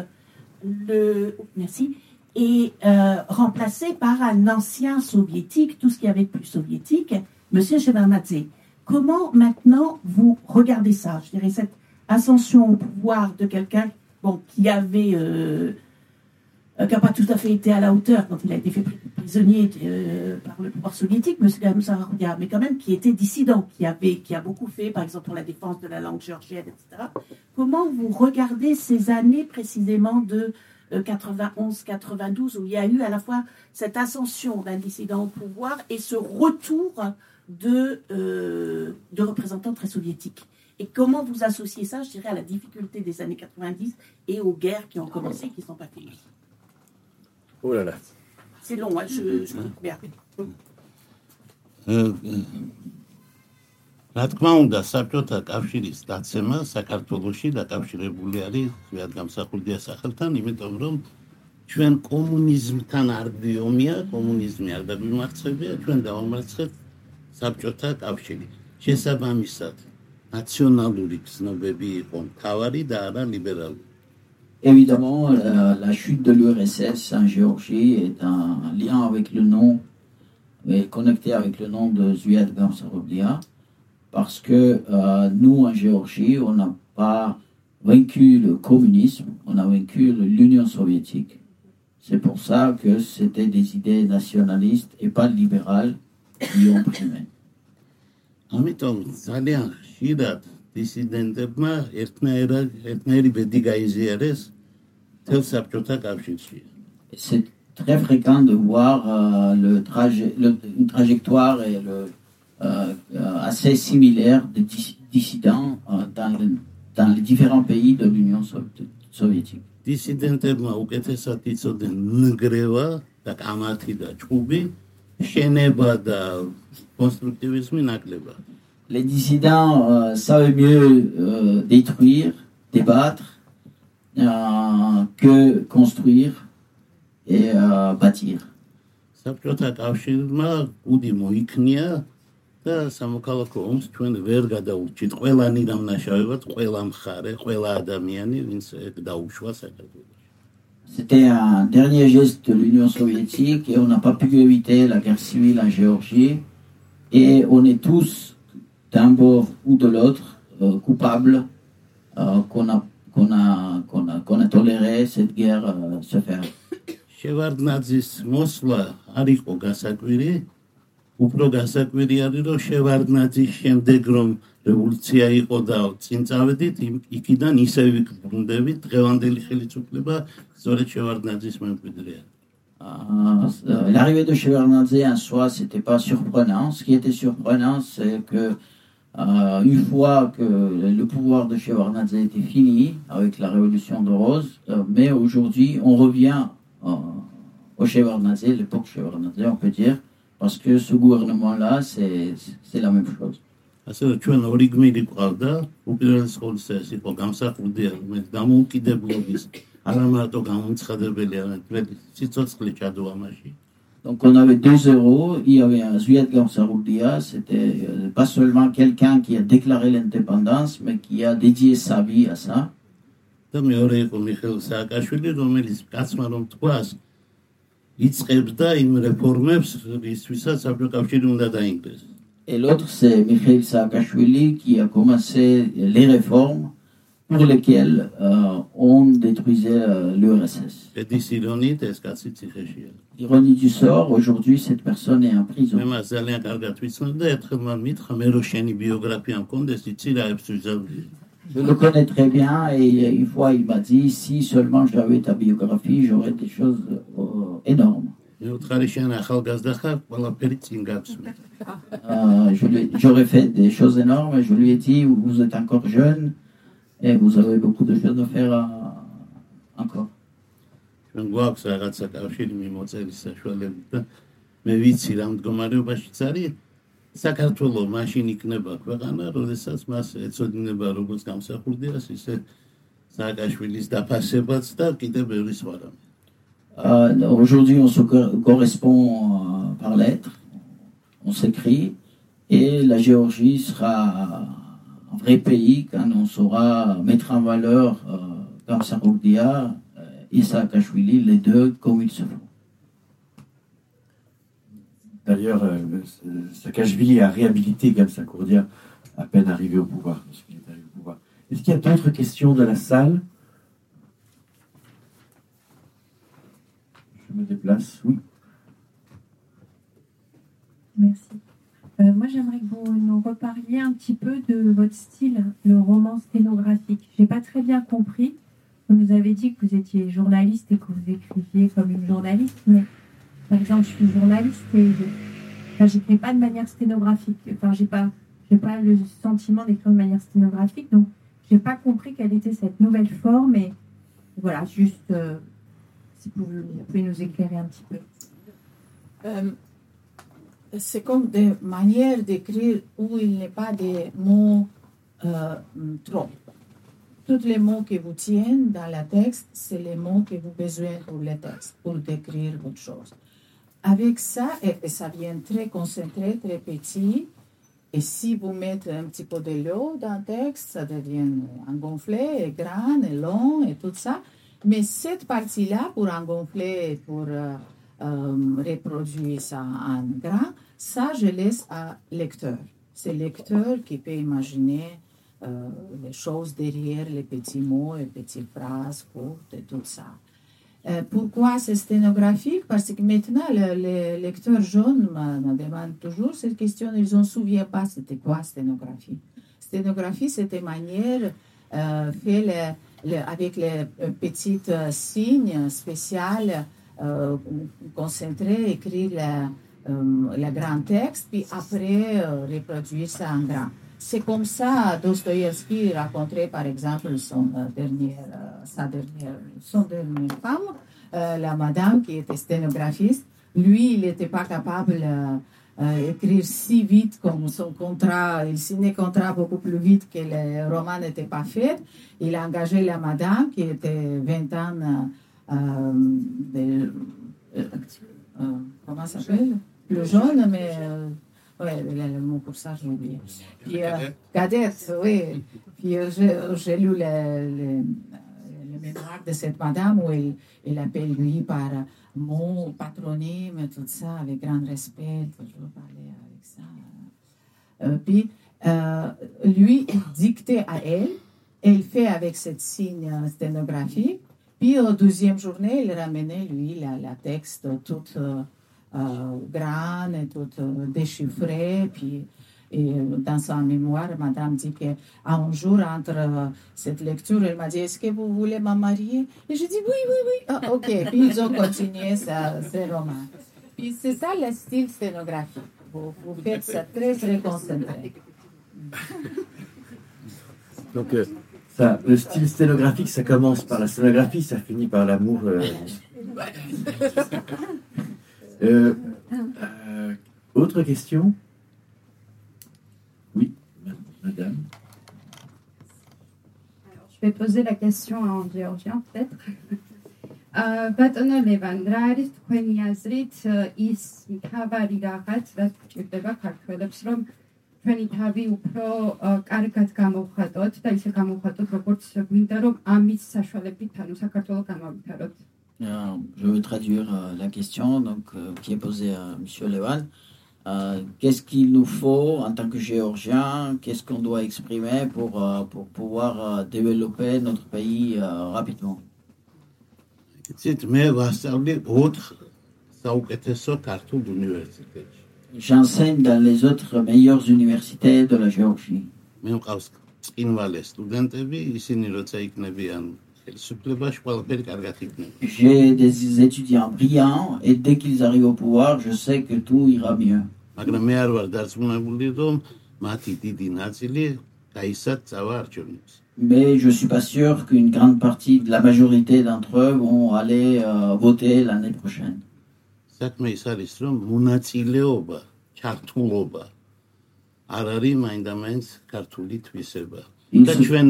et remplacé par un ancien soviétique, tout ce qu'il y avait de plus soviétique, M. Shevardnadze. Comment maintenant vous regardez ça? Je dirais cette ascension au pouvoir de quelqu'un qui avait qui n'a pas tout à fait été à la hauteur quand il a été fait prisonnier par le pouvoir soviétique, M. Khamzat-Ourdia, mais quand même qui était dissident, qui a beaucoup fait, par exemple, pour la défense de la langue géorgienne, etc. Comment vous regardez ces années précisément de 91-92, où il y a eu à la fois cette ascension d'un dissident au pouvoir et ce retour de représentants très soviétiques? Et comment vous associez ça, je dirais, à la difficulté des années 90 et aux guerres qui ont commencé et qui ne sont pas finies? Oh là là. C'est long, hein, je comprends bien. რა თქმა უნდა, საბჭოთა კავშირის დაცემა საქართველოში დაკავშირებული არის ზვიადგამსახურდია სახელთან, იმიტომ რომ ჩვენ კომუნიზმთან არ გვიომია, კომუნიზმი არ დაგვიმარცხებია, ჩვენ დავამარცხეთ საბჭოთა კავშირი. შესაბამისად, ნაციონალური გზნობები იყო მთავარი და არა ლიბერალური. Évidemment, la chute de l'URSS en Géorgie est un lien avec le nom, est connecté avec le nom de Zviad Gamsaroublia, parce que nous, en Géorgie, on n'a pas vaincu le communisme, on a vaincu l'Union soviétique. C'est pour ça que c'était des idées nationalistes et pas libérales qui ont primé. ამიტომ ძალიან ხშირად დისიდენტებმა ერთნაირი ბედი გაიზიარეს თელ საბჭოთა კავშირში. C'est très fréquent de voir une trajectoire et assez similaire de dissidents dans les différents pays de l'Union soviétique. დისიდენტებმა უკეთესად იცოდნენ ნგრევა და კამათი და ჭუბი, შენება და constructivisme nakleba. Les dissidents savaient mieux détruire, débattre, que construire et bâtir. საბჭოთა კავშირმა კუდი მოიქნია და სამოქალაქო ომს ჩვენ ვერ გადაურჩით ყველანი დამნაშავებად, ყველა მხარე, ყველა ადამიანი, ვინც დაუშვა საქართველოში. C'était un dernier geste de l'Union soviétique et on n'a pas pu éviter la guerre civile en Géorgie. Et on est tous, d'un bord ou de l'autre, coupables qu'on a toléré cette guerre se faire. შევარდნაძის მოსვლა არ იყო გასაკვირი, უფრო გასაკვირი არის რომ შევარდნაძის შემდეგ რომ რევოლუცია იყო და წინ წავედით, იქიდან ისევ ვიბრუნდებით, დღევანდელი ხელისუფლება სწორედ შევარდნაძის მემკვიდრეა. L'arrivée de Shevardnadze en soi, c'était pas surprenant. Ce qui était surprenant, c'est que une fois que le pouvoir de Shevardnadze était fini avec la révolution de Rose, mais aujourd'hui, on revient au Shevardnadze, l'époque Shevardnadze, on peut dire, parce que ce gouvernement-là, c'est la même chose. ასე რომ ჩვენ ორი გმირი გვყავდა, უპირველეს ყოვლისა ეს იყო გამსახურდია, რომელიც დამოუკიდებლობის არა მარტო გამოცხადებელი, არამედ სიცოცხლე ჩადო ამაში. Donc on avait 2 héros, il y avait un Zviad Gamsaroudia, c'était pas seulement quelqu'un qui a déclaré l'indépendance, mais qui a dédié sa vie à ça. და მეორე იყო მიხეილ სააკაშვილი, რომელიც კაცმა რომ თქვას, იწყებს და იმ რეფორმებს, რისთვისაც საბჭოთა უნდა დაინგრეს. Et l'autre, c'est Mikhail Saakashvili qui a commencé les réformes pour lesquelles on détruisait l'URSS. ედის ირონიით ეს კაცი ციხეშია. Ironie du sort, aujourd'hui, cette personne est en prison. მე მას ძალიან კარგად ვიცნობ და ერთხელ მან მითხრა, მე რო შენი ბიოგრაფია მქონდეს, იცი რა ებს ვიზავდი. Je le connais très bien et une fois il m'a dit si seulement j'avais ta biographie, j'aurais des choses énormes. J'aurais fait des choses énormes et je lui ai dit vous êtes encore jeune et vous avez beaucoup de choses à faire encore. საქართველოს მაშინ იქნება ქვეყანა, როდესაც მას ეწოდინება როგორც გამსახურდიას, ისე სააკაშვილის დაფასებაც და კიდევ ბევრი სხვა რამე. Aujourd'hui, on se correspond par lettres, on s'écrit, et la Géorgie sera un vrai pays quand on saura mettre en valeur Gamsaroudia et Saakashvili, les deux comme il se faut. D'ailleurs, Saakashvili a réhabilité Gamsaroudia à peine arrivé au pouvoir. Est-ce qu'il y a d'autres questions de la salle? Je me déplace, oui. Merci. Moi, j'aimerais que vous nous reparliez un petit peu de votre style, le roman sténographique. Je n'ai pas très bien compris. Vous nous avez dit que vous étiez journaliste et que vous écriviez comme une journaliste, mais par exemple, je suis journaliste et je n'écris pas de manière sténographique. Enfin, j'ai pas le sentiment d'écrire de manière sténographique, donc j'ai pas compris quelle était cette nouvelle forme. Et voilà, juste si vous pouvez nous éclairer un petit peu. C'est comme des manières d'écrire où il n'y a pas de mots trop. Tous les mots que vous tiennent dans le texte, c'est les mots que vous avez besoin pour le texte, pour décrire votre chose. Avec ça, et ça vient très concentré, très petit, et si vous mettez un petit peu de l'eau dans le texte, ça devient engonflé, et grand, et long, et tout ça. Mais cette partie-là, pour engonfler, pour reproduire ça en grand, ça, je laisse à lecteur. C'est le lecteur qui peut imaginer les choses derrière les petits mots, les petites phrases courtes et tout ça. Pourquoi c'est sténographique? Parce que maintenant, les lecteurs jeunes me demandent toujours cette question, ils ne se souviennent pas c'était quoi sténographie. Sténographie, c'était manière fait avec les petits signes spéciaux, concentrés, écrire le grand texte, puis après reproduire ça en grand. C'est comme ça Dostoïevski racontait par exemple son dernière femme, la madame qui était sténographiste. Lui, il n'était pas capable d'écrire si vite comme son contrat. Il signait contrat beaucoup plus vite que le roman n'était pas fait. Il a engagé la madame qui était 20 ans comment ça s'appelle? Plus jeune, mais... oui, le mot pour ça, j'ai oublié. Puis, cadette, oui. Puis, j'ai lu le mémoire de cette madame où il appelle lui par mot, patronyme, tout ça, avec grand respect, toujours parler avec ça. Puis, lui, il dictait à elle, et il fait avec cette signe sténographique. Puis, au deuxième journée, il ramenait, lui, la texte toute... grande et tout déchiffré. Puis, et dans sa mémoire, madame dit qu'un jour, entre cette lecture, elle m'a dit est-ce que vous voulez me marier? Et je dis oui. Ah, ok. Puis ils ont continué ce roman. Puis c'est ça le style sténographique. Vous faites ça très, très concentré. Donc, le style sténographique, ça commence par la scénographie, ça finit par l'amour. Autre question? Oui. Je vais poser la question en géorgien peut-être. Բატոնო Լևան, რა არის თქვენი აზრით ის მთავარი რაღაც, რაც გვჭირდება ქართველებს, რომ ჩვენი თავი უფრო კარგად გამოვხატოთ და ისე გამოვხატოთ, როგორც გვინდა, რომ ამის საშუალებით ანუ საქართველოს გამავითაროთ. Je veux traduire la question qui est posée à M. Levan. Qu'est-ce qu'il nous faut en tant que Géorgiens? Qu'est-ce qu'on doit exprimer pour pouvoir développer notre pays rapidement? J'enseigne dans les autres meilleures universités de la Géorgie. J'ai des étudiants brillants et dès qu'ils arrivent au pouvoir, je sais que tout ira mieux. Mais je ne suis pas sûr qu'une grande partie de la majorité d'entre eux vont aller voter l'année prochaine. Il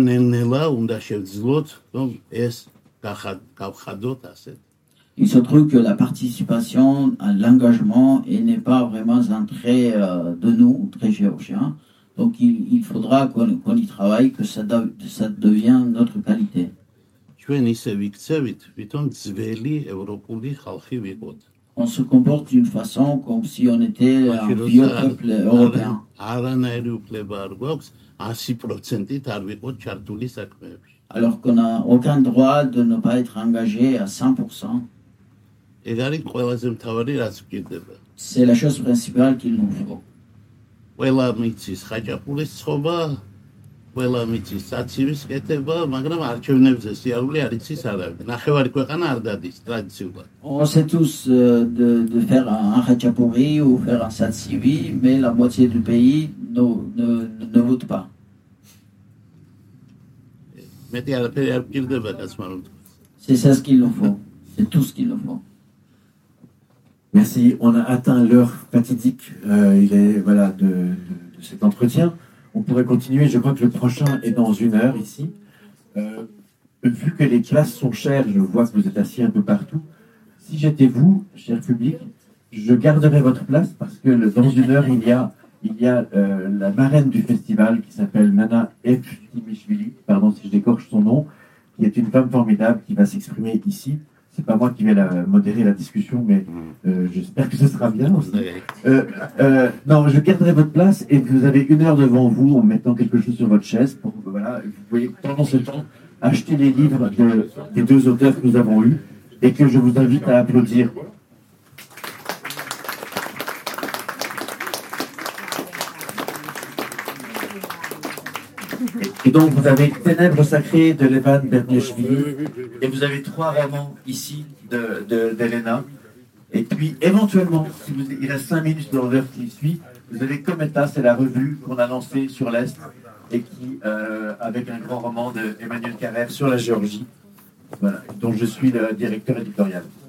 se trouve que la participation à l'engagement n'est pas vraiment un trait de nous, très géorgiens. Donc il faudra qu'on y travaille, que ça devienne notre qualité. On se comporte d'une façon comme si on était un vieux peuple européen. Alors qu'on n'a aucun droit de ne pas être engagé à 100%. C'est la chose principale qu'il nous faut. On sait tous de faire un khachapuri ou faire un satsivi, mais la moitié du pays ne vote pas. C'est ça ce qu'il nous faut. C'est tout ce qu'il nous faut. Merci. On a atteint l'heure fatidique de cet entretien. On pourrait continuer. Je crois que le prochain est dans 1 heure ici. Vu que les classes sont chères, je vois que vous êtes assis un peu partout. Si j'étais vous, cher public, je garderais votre place parce que dans 1 heure, il y a la marraine du festival qui s'appelle Nana Eftimishvili, pardon si je décorche son nom, qui est une femme formidable qui va s'exprimer ici. C'est pas moi qui vais modérer la discussion, mais j'espère que ce sera bien aussi. Non, je garderai votre place et vous avez 1 heure devant vous en mettant quelque chose sur votre chaise. Vous pouvez pendant ce temps acheter les livres des 2 auteurs que nous avons eus et que je vous invite à applaudir. Et donc, vous avez Ténèbres sacrées de Levan Berniashvili, et vous avez 3 romans ici d'Elena. Et puis, éventuellement, il reste 5 minutes dans l'heure qui suit, vous avez Cometa, c'est la revue qu'on a lancée sur l'Est, et qui, avec un grand roman d'Emmanuel Carrère sur la Géorgie, voilà, dont je suis le directeur éditorial.